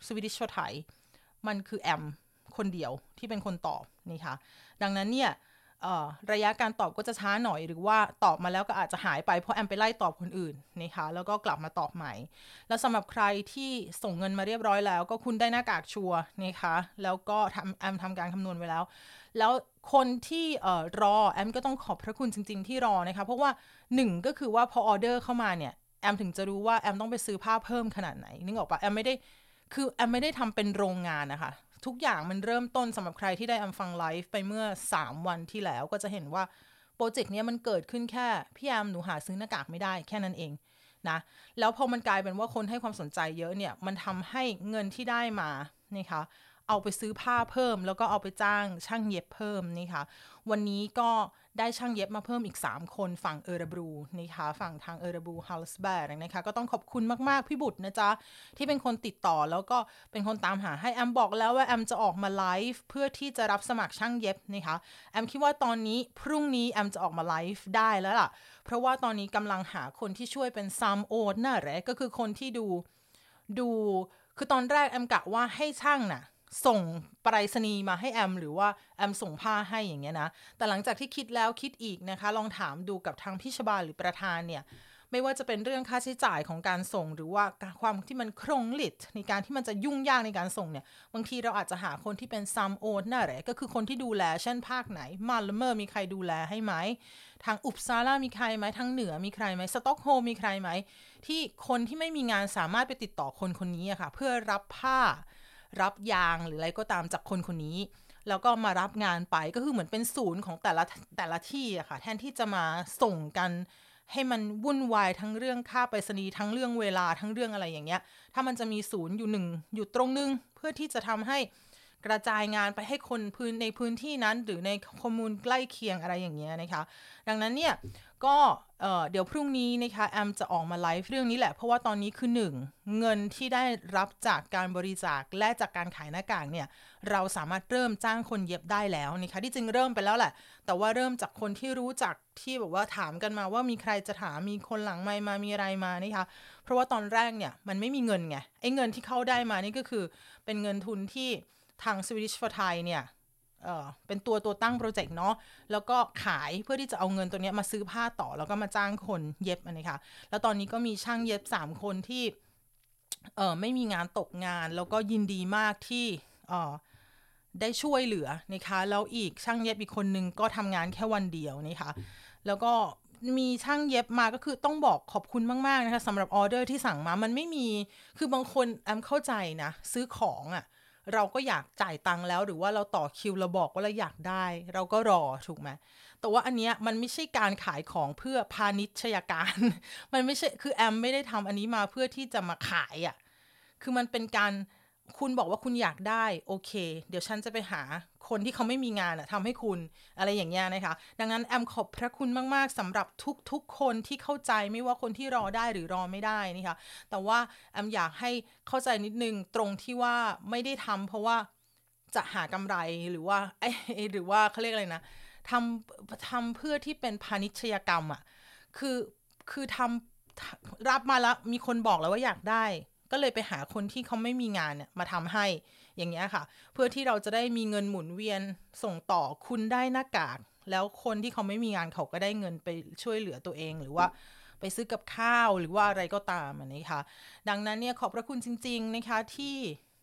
สวีดิชไทยมันคือแอมคนเดียวที่เป็นคนตอบนี่ค่ะดังนั้นเนี่ยระยะการตอบก็จะช้าหน่อยหรือว่าตอบมาแล้วก็อาจจะหายไปเพราะแอมไปไล่ตอบคนอื่นนะคะแล้วก็กลับมาตอบใหม่แล้วสำหรับใครที่ส่งเงินมาเรียบร้อยแล้วก็คุณได้หน้ากากชัวร์นะคะแล้วก็ทำแอมทำการคำนวณไว้แล้วแล้วคนที่เอ่อรอแอมก็ต้องขอบพระคุณจริงๆที่รอนะคะเพราะว่าหนึ่งก็คือว่าพอออเดอร์เข้ามาเนี่ยแอมถึงจะรู้ว่าแอมต้องไปซื้อผ้าเพิ่มขนาดไหนนึกออกปะแอมไม่ได้คือแอมไม่ได้ทำเป็นโรงงานนะคะทุกอย่างมันเริ่มต้นสำหรับใครที่ได้แอมฟังไลฟ์ไปเมื่อสามวันที่แล้วก็จะเห็นว่าโปรเจกต์นี้มันเกิดขึ้นแค่พี่แอมหนูหาซื้อหน้ากากไม่ได้แค่นั้นเองนะแล้วพอมันกลายเป็นว่าคนให้ความสนใจเยอะเนี่ยมันทำให้เงินที่ได้มานะคะเอาไปซื้อผ้าเพิ่มแล้วก็เอาไปจ้างช่างเย็บเพิ่มนี่ค่ะวันนี้ก็ได้ช่างเย็บมาเพิ่มอีกสามคนฝั่งเออร์บรูนะคะฝั่งทางเออร์บรูฮัลสแบร์นะคะก็ต้องขอบคุณมากๆพี่บุตรนะจ๊ะที่เป็นคนติดต่อแล้วก็เป็นคนตามหาให้แอมบอกแล้วว่าแอมจะออกมาไลฟ์เพื่อที่จะรับสมัครช่างเย็บนะคะแอมคิดว่าตอนนี้พรุ่งนี้แอมจะออกมาไลฟ์ได้แล้วล่ะเพราะว่าตอนนี้กำลังหาคนที่ช่วยเป็นซัมโอดน่ะแหละก็คือคนที่ดูดูคือตอนแรกแอมกะว่าให้ช่างน่ะส่งไปรษณีย์มาให้แอมหรือว่าแอมส่งผ้าให้อย่างเงี้ยนะแต่หลังจากที่คิดแล้วคิดอีกนะคะลองถามดูกับทางพี่ชบาหรือประธานเนี่ยไม่ว่าจะเป็นเรื่องค่าใช้จ่ายของการส่งหรือว่าความที่มันครงลิดในการที่มันจะยุ่งยากในการส่งเนี่ยบางทีเราอาจจะหาคนที่เป็นซัมโอนน่ะแหละก็คือคนที่ดูแลเช่นภาคไหนมาลเมอร์มีใครดูแลให้ไหมทางอุปซาลามีใครไหมทางเหนือมีใครไหมสต็อกโฮล์มมีใครไหมที่คนที่ไม่มีงานสามารถไปติดต่อคนคนนี้อะค่ะเพื่อรับผ้ารับยางหรืออะไรก็ตามจากคนคนนี้แล้วก็มารับงานไปก็คือเหมือนเป็นศูนย์ของแต่ละแต่ละที่อะค่ะแทนที่จะมาส่งกันให้มันวุ่นวายทั้งเรื่องค่าไปรษณีย์ทั้งเรื่องเวลาทั้งเรื่องอะไรอย่างเงี้ยถ้ามันจะมีศูนย์อยู่หนึ่งอยู่ตรงนึงเพื่อที่จะทำให้กระจายงานไปให้คนพื้นในพื้นที่นั้นหรือในคอมมูนใกล้เคียงอะไรอย่างเงี้ยนะคะดังนั้นเนี่ยก็เอ่อเดี๋ยวพรุ่งนี้นะคะแอมจะออกมาไลฟ์เรื่องนี้แหละเพราะว่าตอนนี้คือหนึ่งเงินที่ได้รับจากการบริจาคและจากการขายหน้ากากเนี่ยเราสามารถเริ่มจ้างคนเย็บได้แล้วนะคะที่จริงเริ่มไปแล้วแหละแต่ว่าเริ่มจากคนที่รู้จักที่แบบว่าถามกันมาว่ามีใครจะถามมีคนหลังไมค์มามีอะไรมานะคะเพราะว่าตอนแรกเนี่ยมันไม่มีเงินไงไอ้เงินที่เข้าได้มานี่ก็คือเป็นเงินทุนที่ทาง Swedish for Thai เนี่ยเอ่อเป็นตัวตัวตั้งโปรเจกต์เนาะแล้วก็ขายเพื่อที่จะเอาเงินตัวนี้มาซื้อผ้าต่อแล้วก็มาจ้างคนเย็บอันนี้ค่ะแล้วตอนนี้ก็มีช่างเย็บสามคนที่เอ่อไม่มีงานตกงานแล้วก็ยินดีมากที่เอ่อได้ช่วยเหลือนะคะแล้วอีกช่างเย็บอีกคนนึงก็ทำงานแค่วันเดียวนะคะแล้วก็มีช่างเย็บมาก็คือต้องบอกขอบคุณมากๆนะคะสำหรับออเดอร์ที่สั่งมามันไม่มีคือบางคนแอมเข้าใจนะซื้อของอ่ะเราก็อยากจ่ายตังค์แล้วหรือว่าเราต่อคิวเราบอกว่าเราอยากได้เราก็รอถูกไหมแต่ว่าอันเนี้ยมันไม่ใช่การขายของเพื่อพาณิชยการ มันไม่ใช่คือแอมไม่ได้ทำอันนี้มาเพื่อที่จะมาขายอ่ะคือมันเป็นการคุณบอกว่าคุณอยากได้โอเคเดี๋ยวฉันจะไปหาคนที่เขาไม่มีงานอะทำให้คุณอะไรอย่างเงี้ยนะคะดังนั้นแอมขอบพระคุณมากๆสำหรับทุกๆคนที่เข้าใจไม่ว่าคนที่รอได้หรือรอไม่ได้นะคะแต่ว่าแอมอยากให้เข้าใจนิดนึงตรงที่ว่าไม่ได้ทำเพราะว่าจะหากำไรหรือว่าไอ้หรือว่าเขาเรียกอะไรนะทำทำเพื่อที่เป็นพาณิชยกรรมอะคือคือทำรับมาแล้วมีคนบอกแล้วว่าอยากได้ก็เลยไปหาคนที่เขาไม่มีงานเนี่ยมาทำให้อย่างเงี้ยค่ะเพื่อที่เราจะได้มีเงินหมุนเวียนส่งต่อคุณได้หน้ากากแล้วคนที่เขาไม่มีงานเขาก็ได้เงินไปช่วยเหลือตัวเองหรือว่าไปซื้อกับข้าวหรือว่าอะไรก็ตามอันนี้ค่ะดังนั้นเนี่ยขอบพระคุณจริงๆนะคะที่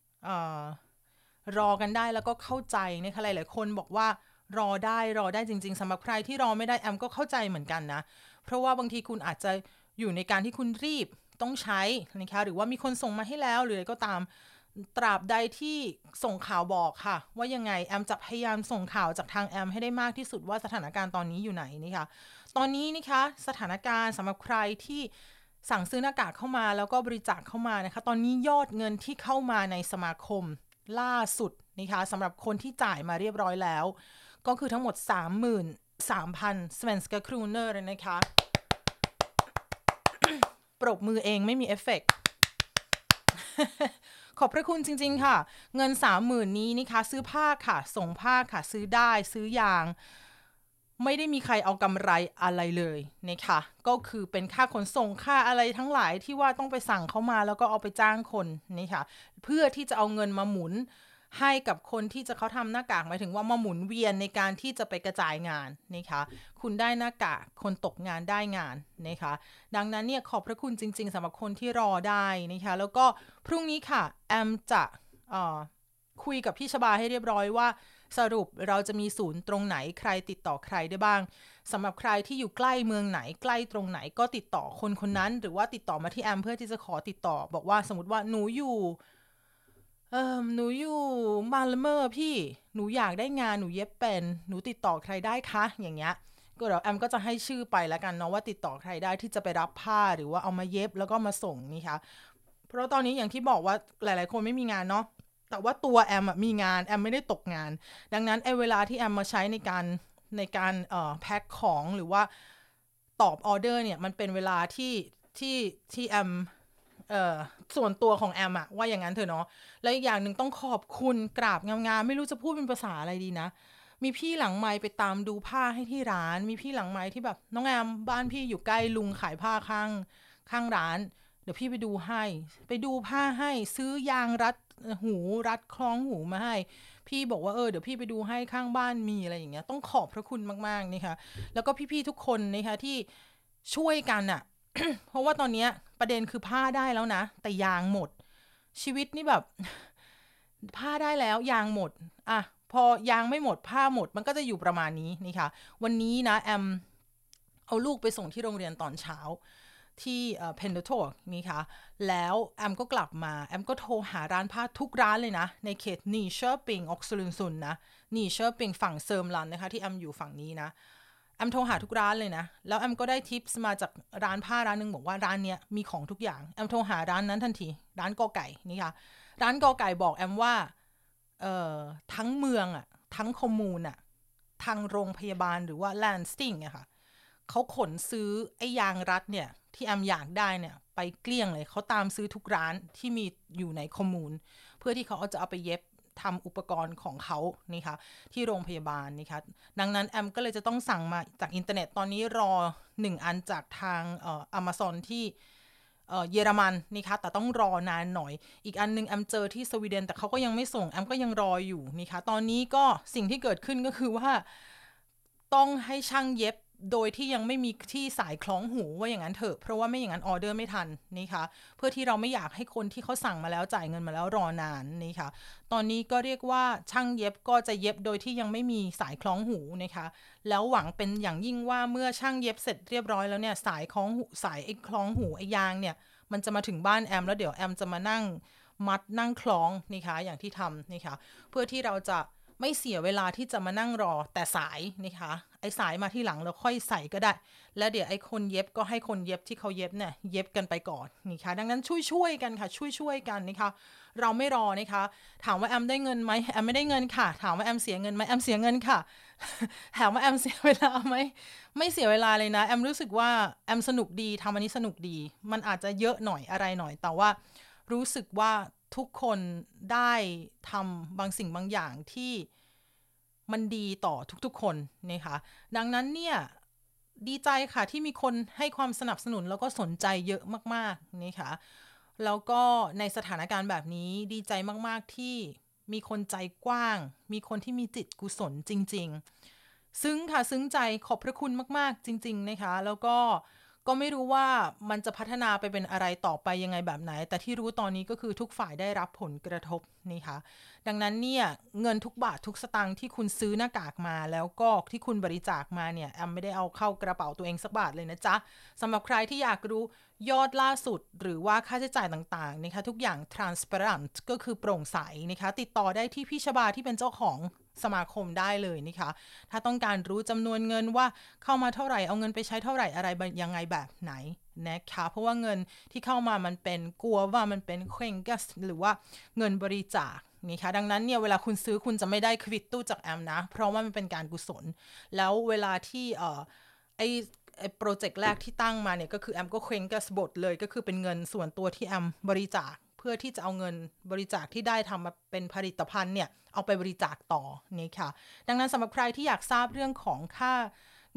รอกันได้แล้วก็เข้าใจนะคะหลายๆคนบอกว่ารอได้รอได้จริงๆสำหรับใครที่รอไม่ได้แอมก็เข้าใจเหมือนกันนะเพราะว่าบางทีคุณอาจจะอยู่ในการที่คุณรีบต้องใช้นะคะหรือว่ามีคนส่งมาให้แล้วหรืออะไรก็ตามตราบใดที่ส่งข่าวบอกค่ะว่ายังไงแอมจะพยายามส่งข่าวจากทางแอมให้ได้มากที่สุดว่าสถานการณ์ตอนนี้อยู่ไหนนี่ค่ะตอนนี้นะคะสถานการณ์สำหรับใครที่สั่งซื้อหน้ากากเข้ามาแล้วก็บริจาคเข้ามานะคะตอนนี้ยอดเงินที่เข้ามาในสมาคมล่าสุดนะคะสำหรับคนที่จ่ายมาเรียบร้อยแล้วก็คือทั้งหมด สามหมื่นสามพัน svenska kronor เลยนะคะปรบมือเองไม่มีเอฟเฟกต์ ขอบพระคุณจริงๆค่ะเงิน สามหมื่น นี้นะคะซื้อผ้าค่ะส่งผ้าค่ะซื้อได้ซื้อยางไม่ได้มีใครเอากำไรอะไรเลยนะคะก็คือเป็นค่าขนส่งค่าอะไรทั้งหลายที่ว่าต้องไปสั่งเขามาแล้วก็เอาไปจ้างคนนี่ค่ะเพื่อที่จะเอาเงินมาหมุนให้กับคนที่จะเขาทำหน้ากากหมายถึงว่ามาหมุนเวียนในการที่จะไปกระจายงานนะคะคุณได้หน้ากากคนตกงานได้งานนะคะดังนั้นเนี่ยขอบพระคุณจริงๆสำหรับคนที่รอได้นะคะแล้วก็พรุ่งนี้ค่ะแอมจะเอ่อคุยกับพี่ชบาให้เรียบร้อยว่าสรุปเราจะมีศูนย์ตรงไหนใครติดต่อใครได้บ้างสำหรับใครที่อยู่ใกล้เมืองไหนใกล้ตรงไหนก็ติดต่อคนคนนั้นหรือว่าติดต่อมาที่แอมเพื่อที่จะขอติดต่อบอกว่าสมมติว่าหนูอยู่เออหนูอยู่มาละเมอพี่หนูอยากได้งานหนูเย็บเป็นหนูติดต่อใครได้คะอย่างเงี้ยก็เดี๋ยวแอมก็จะให้ชื่อไปแล้วกันเนาะว่าติดต่อใครได้ที่จะไปรับผ้าหรือว่าเอามาเย็บแล้วก็มาส่งนี่ค่ะเพราะตอนนี้อย่างที่บอกว่าหลายๆคนไม่มีงานเนาะแต่ว่าตัวแอมมีงานแอมไม่ได้ตกงานดังนั้นไอ้เวลาที่แอมมาใช้ในการในการเอ่อแพ็คของหรือว่าตอบออเดอร์เนี่ยมันเป็นเวลาที่ที่ที่แอมเอ่อส่วนตัวของแอมอะว่าอย่างนั้นเถอะเนาะแล้วอีกอย่างหนึ่งต้องขอบคุณกราบงามๆไม่รู้จะพูดเป็นภาษาอะไรดีนะมีพี่หลังไมค์ไปตามดูผ้าให้ที่ร้านมีพี่หลังไมค์ที่แบบน้องแอมบ้านพี่อยู่ใกล้ลุงขายผ้าข้างข้างร้านเดี๋ยวพี่ไปดูให้ไปดูผ้าให้ซื้อยางรัดหูรัดคล้องหูมาให้พี่บอกว่าเออเดี๋ยวพี่ไปดูให้ข้างบ้านมีอะไรอย่างเงี้ยต้องขอบพระคุณมากๆนี่ค่ะแล้วก็พี่ๆทุกคนนะคะที่ช่วยกันอะ เพราะว่าตอนนี้ประเด็นคือผ้าได้แล้วนะแต่ยางหมดชีวิตนี่แบบผ้าได้แล้วยางหมดอ่ะพอยางไม่หมดผ้าหมดมันก็จะอยู่ประมาณนี้นี่ค่ะวันนี้นะแอมเอาลูกไปส่งที่โรงเรียนตอนเช้าที่เพนเดโตนี่ค่ะแล้วแอมก็กลับมาแอมก็โทรหาร้านผ้าทุกร้านเลยนะในเขตนีเชอร์ปิงออกซลุนซุนนะนีเชอร์ปิงฝั่งเซิร์มลันนะคะที่แอมอยู่ฝั่งนี้นะแอมโทรหาทุกร้านเลยนะแล้วแอมก็ได้ทิปส์มาจากร้านผ้าร้านนึงบอกว่าร้านเนี้ยมีของทุกอย่างแอมโทรหาร้านนั้นทันทีร้านกอไก่นี่ค่ะร้านกอไก่บอกแอมว่าเอ่อทั้งเมืองอะทั้งคอมมูนอะทางโรงพยาบาลหรือว่าแลนสติงอะค่ะเขาขนซื้อไอ้ยางรัดเนี่ยที่แอมอยากได้เนี่ยไปเกลี้ยงเลยเขาตามซื้อทุกร้านที่มีอยู่ในคอมมูนเพื่อที่เขาจะเอาไปเย็บทำอุปกรณ์ของเขานี่ค่ะที่โรงพยาบาลนี่ค่ะดังนั้นแอมก็เลยจะต้องสั่งมาจากอินเทอร์เน็ตตอนนี้รอหนึ่งอันจากทางเอ่อ Amazon ที่เอ่อเยอรมันนี่ค่ะแต่ต้องรอนานหน่อยอีกอันนึงแอมเจอที่สวีเดนแต่เขาก็ยังไม่ส่งแอมก็ยังรออยู่นี่ค่ะตอนนี้ก็สิ่งที่เกิดขึ้นก็คือว่าต้องให้ช่างเย็บโดยที่ยังไม่มีที่สายคล้องหูว่าอย่างนั้นเถอะเพราะว่าไม่อย่างนั้นออเดอร์ไม่ทันนี่ค่ะเพื่อที่เราไม่อยากให้คนที่เขาสั่งมาแล้วจ่ายเงินมาแล้วรอนานนี่ค่ะตอนนี้ก็เรียกว่าช่างเย็บก็จะเย็บโดยที่ยังไม่มีสายคล้องหูนะคะแล้วหวังเป็นอย่างยิ่งว่าเมื่อช่างเย็บเสร็จเรียบร้อยแล้วเนี่ยสายคล้องหูสายไอ้คล้องหูไอ้ยางเนี่ยมันจะมาถึงบ้านแอมแล้วเดี๋ยวแอมจะมานั่งมัดนั่งคล้องนี่ค่ะอย่างที่ทำนี่ค่ะเพื่อที่เราจะไม่เสียเวลาที่จะมานั่งรอแต่สายนะคะไอ้สายมาที่หลังแล้วค่อยใส่ก็ได้แล้วเดี๋ยวไอ้คนเย็บก็ให้คนเย็บที่เขาเย็บเนี่ยเย็บกันไปก่อนนี่ค่ะดังนั้นช่วยๆกันค่ะช่วยๆกันนะคะเราไม่รอนะคะถามว่าแอมได้เงินไหมแอมไม่ได้เงินค่ะถามว่าแอมเสียเงินไหมแอมเสียเงินค่ะ ถามว่าแอมเสียเวลาไหมไม่เสียเวลาเลยนะแอมรู้สึกว่าแอมสนุกดีทำอันนี้สนุกดีมันอาจจะเยอะหน่อยอะไรหน่อยแต่ว่ารู้สึกว่าทุกคนได้ทำบางสิ่งบางอย่างที่มันดีต่อทุกๆคนนะคะดังนั้นเนี่ยดีใจค่ะที่มีคนให้ความสนับสนุนแล้วก็สนใจเยอะมากๆนะคะแล้วก็ในสถานการณ์แบบนี้ดีใจมากๆที่มีคนใจกว้างมีคนที่มีจิตกุศลจริงๆซึ้งค่ะซึ้งใจขอบพระคุณมากๆจริงๆนะคะแล้วก็ก็ไม่รู้ว่ามันจะพัฒนาไปเป็นอะไรต่อไปยังไงแบบไหนแต่ที่รู้ตอนนี้ก็คือทุกฝ่ายได้รับผลกระทบนี่ค่ะดังนั้นเนี่ยเงินทุกบาททุกสตางค์ที่คุณซื้อหน้ากากมาแล้วก็ที่คุณบริจาคมาเนี่ยแอมไม่ได้เอาเข้ากระเป๋าตัวเองสักบาทเลยนะจ๊ะสำหรับใครที่อยากรู้ยอดล่าสุดหรือว่าค่าใช้จ่ายต่างๆนะคะทุกอย่าง transparent ก็คือโปร่งใสนะคะติดต่อได้ที่พี่ชบาที่เป็นเจ้าของสมาคมได้เลยนะคะถ้าต้องการรู้จำนวนเงินว่าเข้ามาเท่าไหร่เอาเงินไปใช้เท่าไหร่อะไรยังไงแบบไหนนะคะเพราะว่าเงินที่เข้ามามันเป็นกลัวว่ามันเป็นเคร่งกัสหรือว่าเงินบริจาคนี่ค่ะดังนั้นเนี่ยเวลาคุณซื้อคุณจะไม่ได้ควิตตู้จากแอมนะเพราะว่ามันเป็นการกุศลแล้วเวลาที่เอ่อไอไอโปรเจกต์แรกที่ตั้งมาเนี่ยก็คือแอมก็เคร่งกัสบทเลยก็คือเป็นเงินส่วนตัวที่แอมบริจาคเพื่อที่จะเอาเงินบริจาคที่ได้ทำมาเป็นผลิตภัณฑ์เนี่ยเอาไปบริจาคต่อนี่ค่ะดังนั้นสำหรับใครที่อยากทราบเรื่องของค่า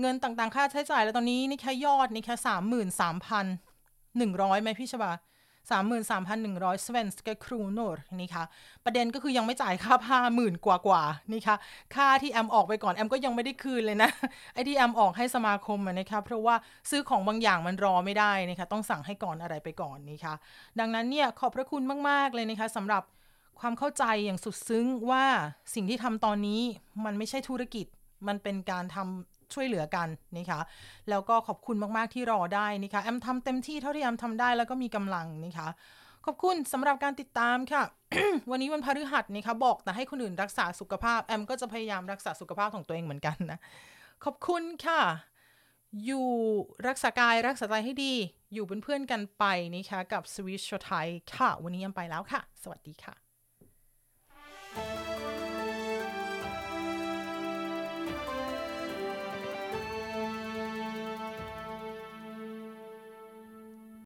เงินต่างๆค่าใช้จ่ายแล้วตอนนี้นี่แค่ยอดนี่แค่สามหมื่นสามพันหนึ่งร้อยไหมพี่ชบาสามหมื่นสามพันหนึ่งร้อยสเวนสกครูโนร์นี่ค่ะประเด็นก็คือยังไม่จ่ายค่าผ้าหมื่นกว่ากว่านี่ค่ะค่าที่แอมออกไปก่อนแอมก็ยังไม่ได้คืนเลยนะไอ้ที่แอมออกให้สมาคมนะคะเพราะว่าซื้อของบางอย่างมันรอไม่ได้นะคะต้องสั่งให้ก่อนอะไรไปก่อนนี่ค่ะดังนั้นเนี่ยขอบพระคุณมากๆเลยนะคะสำหรับความเข้าใจอย่างสุดซึ้งว่าสิ่งที่ทำตอนนี้มันไม่ใช่ธุรกิจมันเป็นการทำช่วยเหลือกันนะคะแล้วก็ขอบคุณมากๆที่รอได้นะคะแอมทำเต็มที่เท่าที่แอมทำได้แล้วก็มีกำลังนะคะขอบคุณสำหรับการติดตามค่ะ วันนี้วันพฤหัสนะคะบอกแต่ให้คนอื่นรักษาสุขภาพแอมก็จะพยายามรักษาสุขภาพของตัวเองเหมือนกันนะขอบคุณค่ะอยู่รักษากายรักษาใจให้ดีอยู่เป็นเพื่อนกันไปนะคะกับ Swiss Show Thai ค่ะวันนี้แอมไปแล้วค่ะสวัสดีค่ะ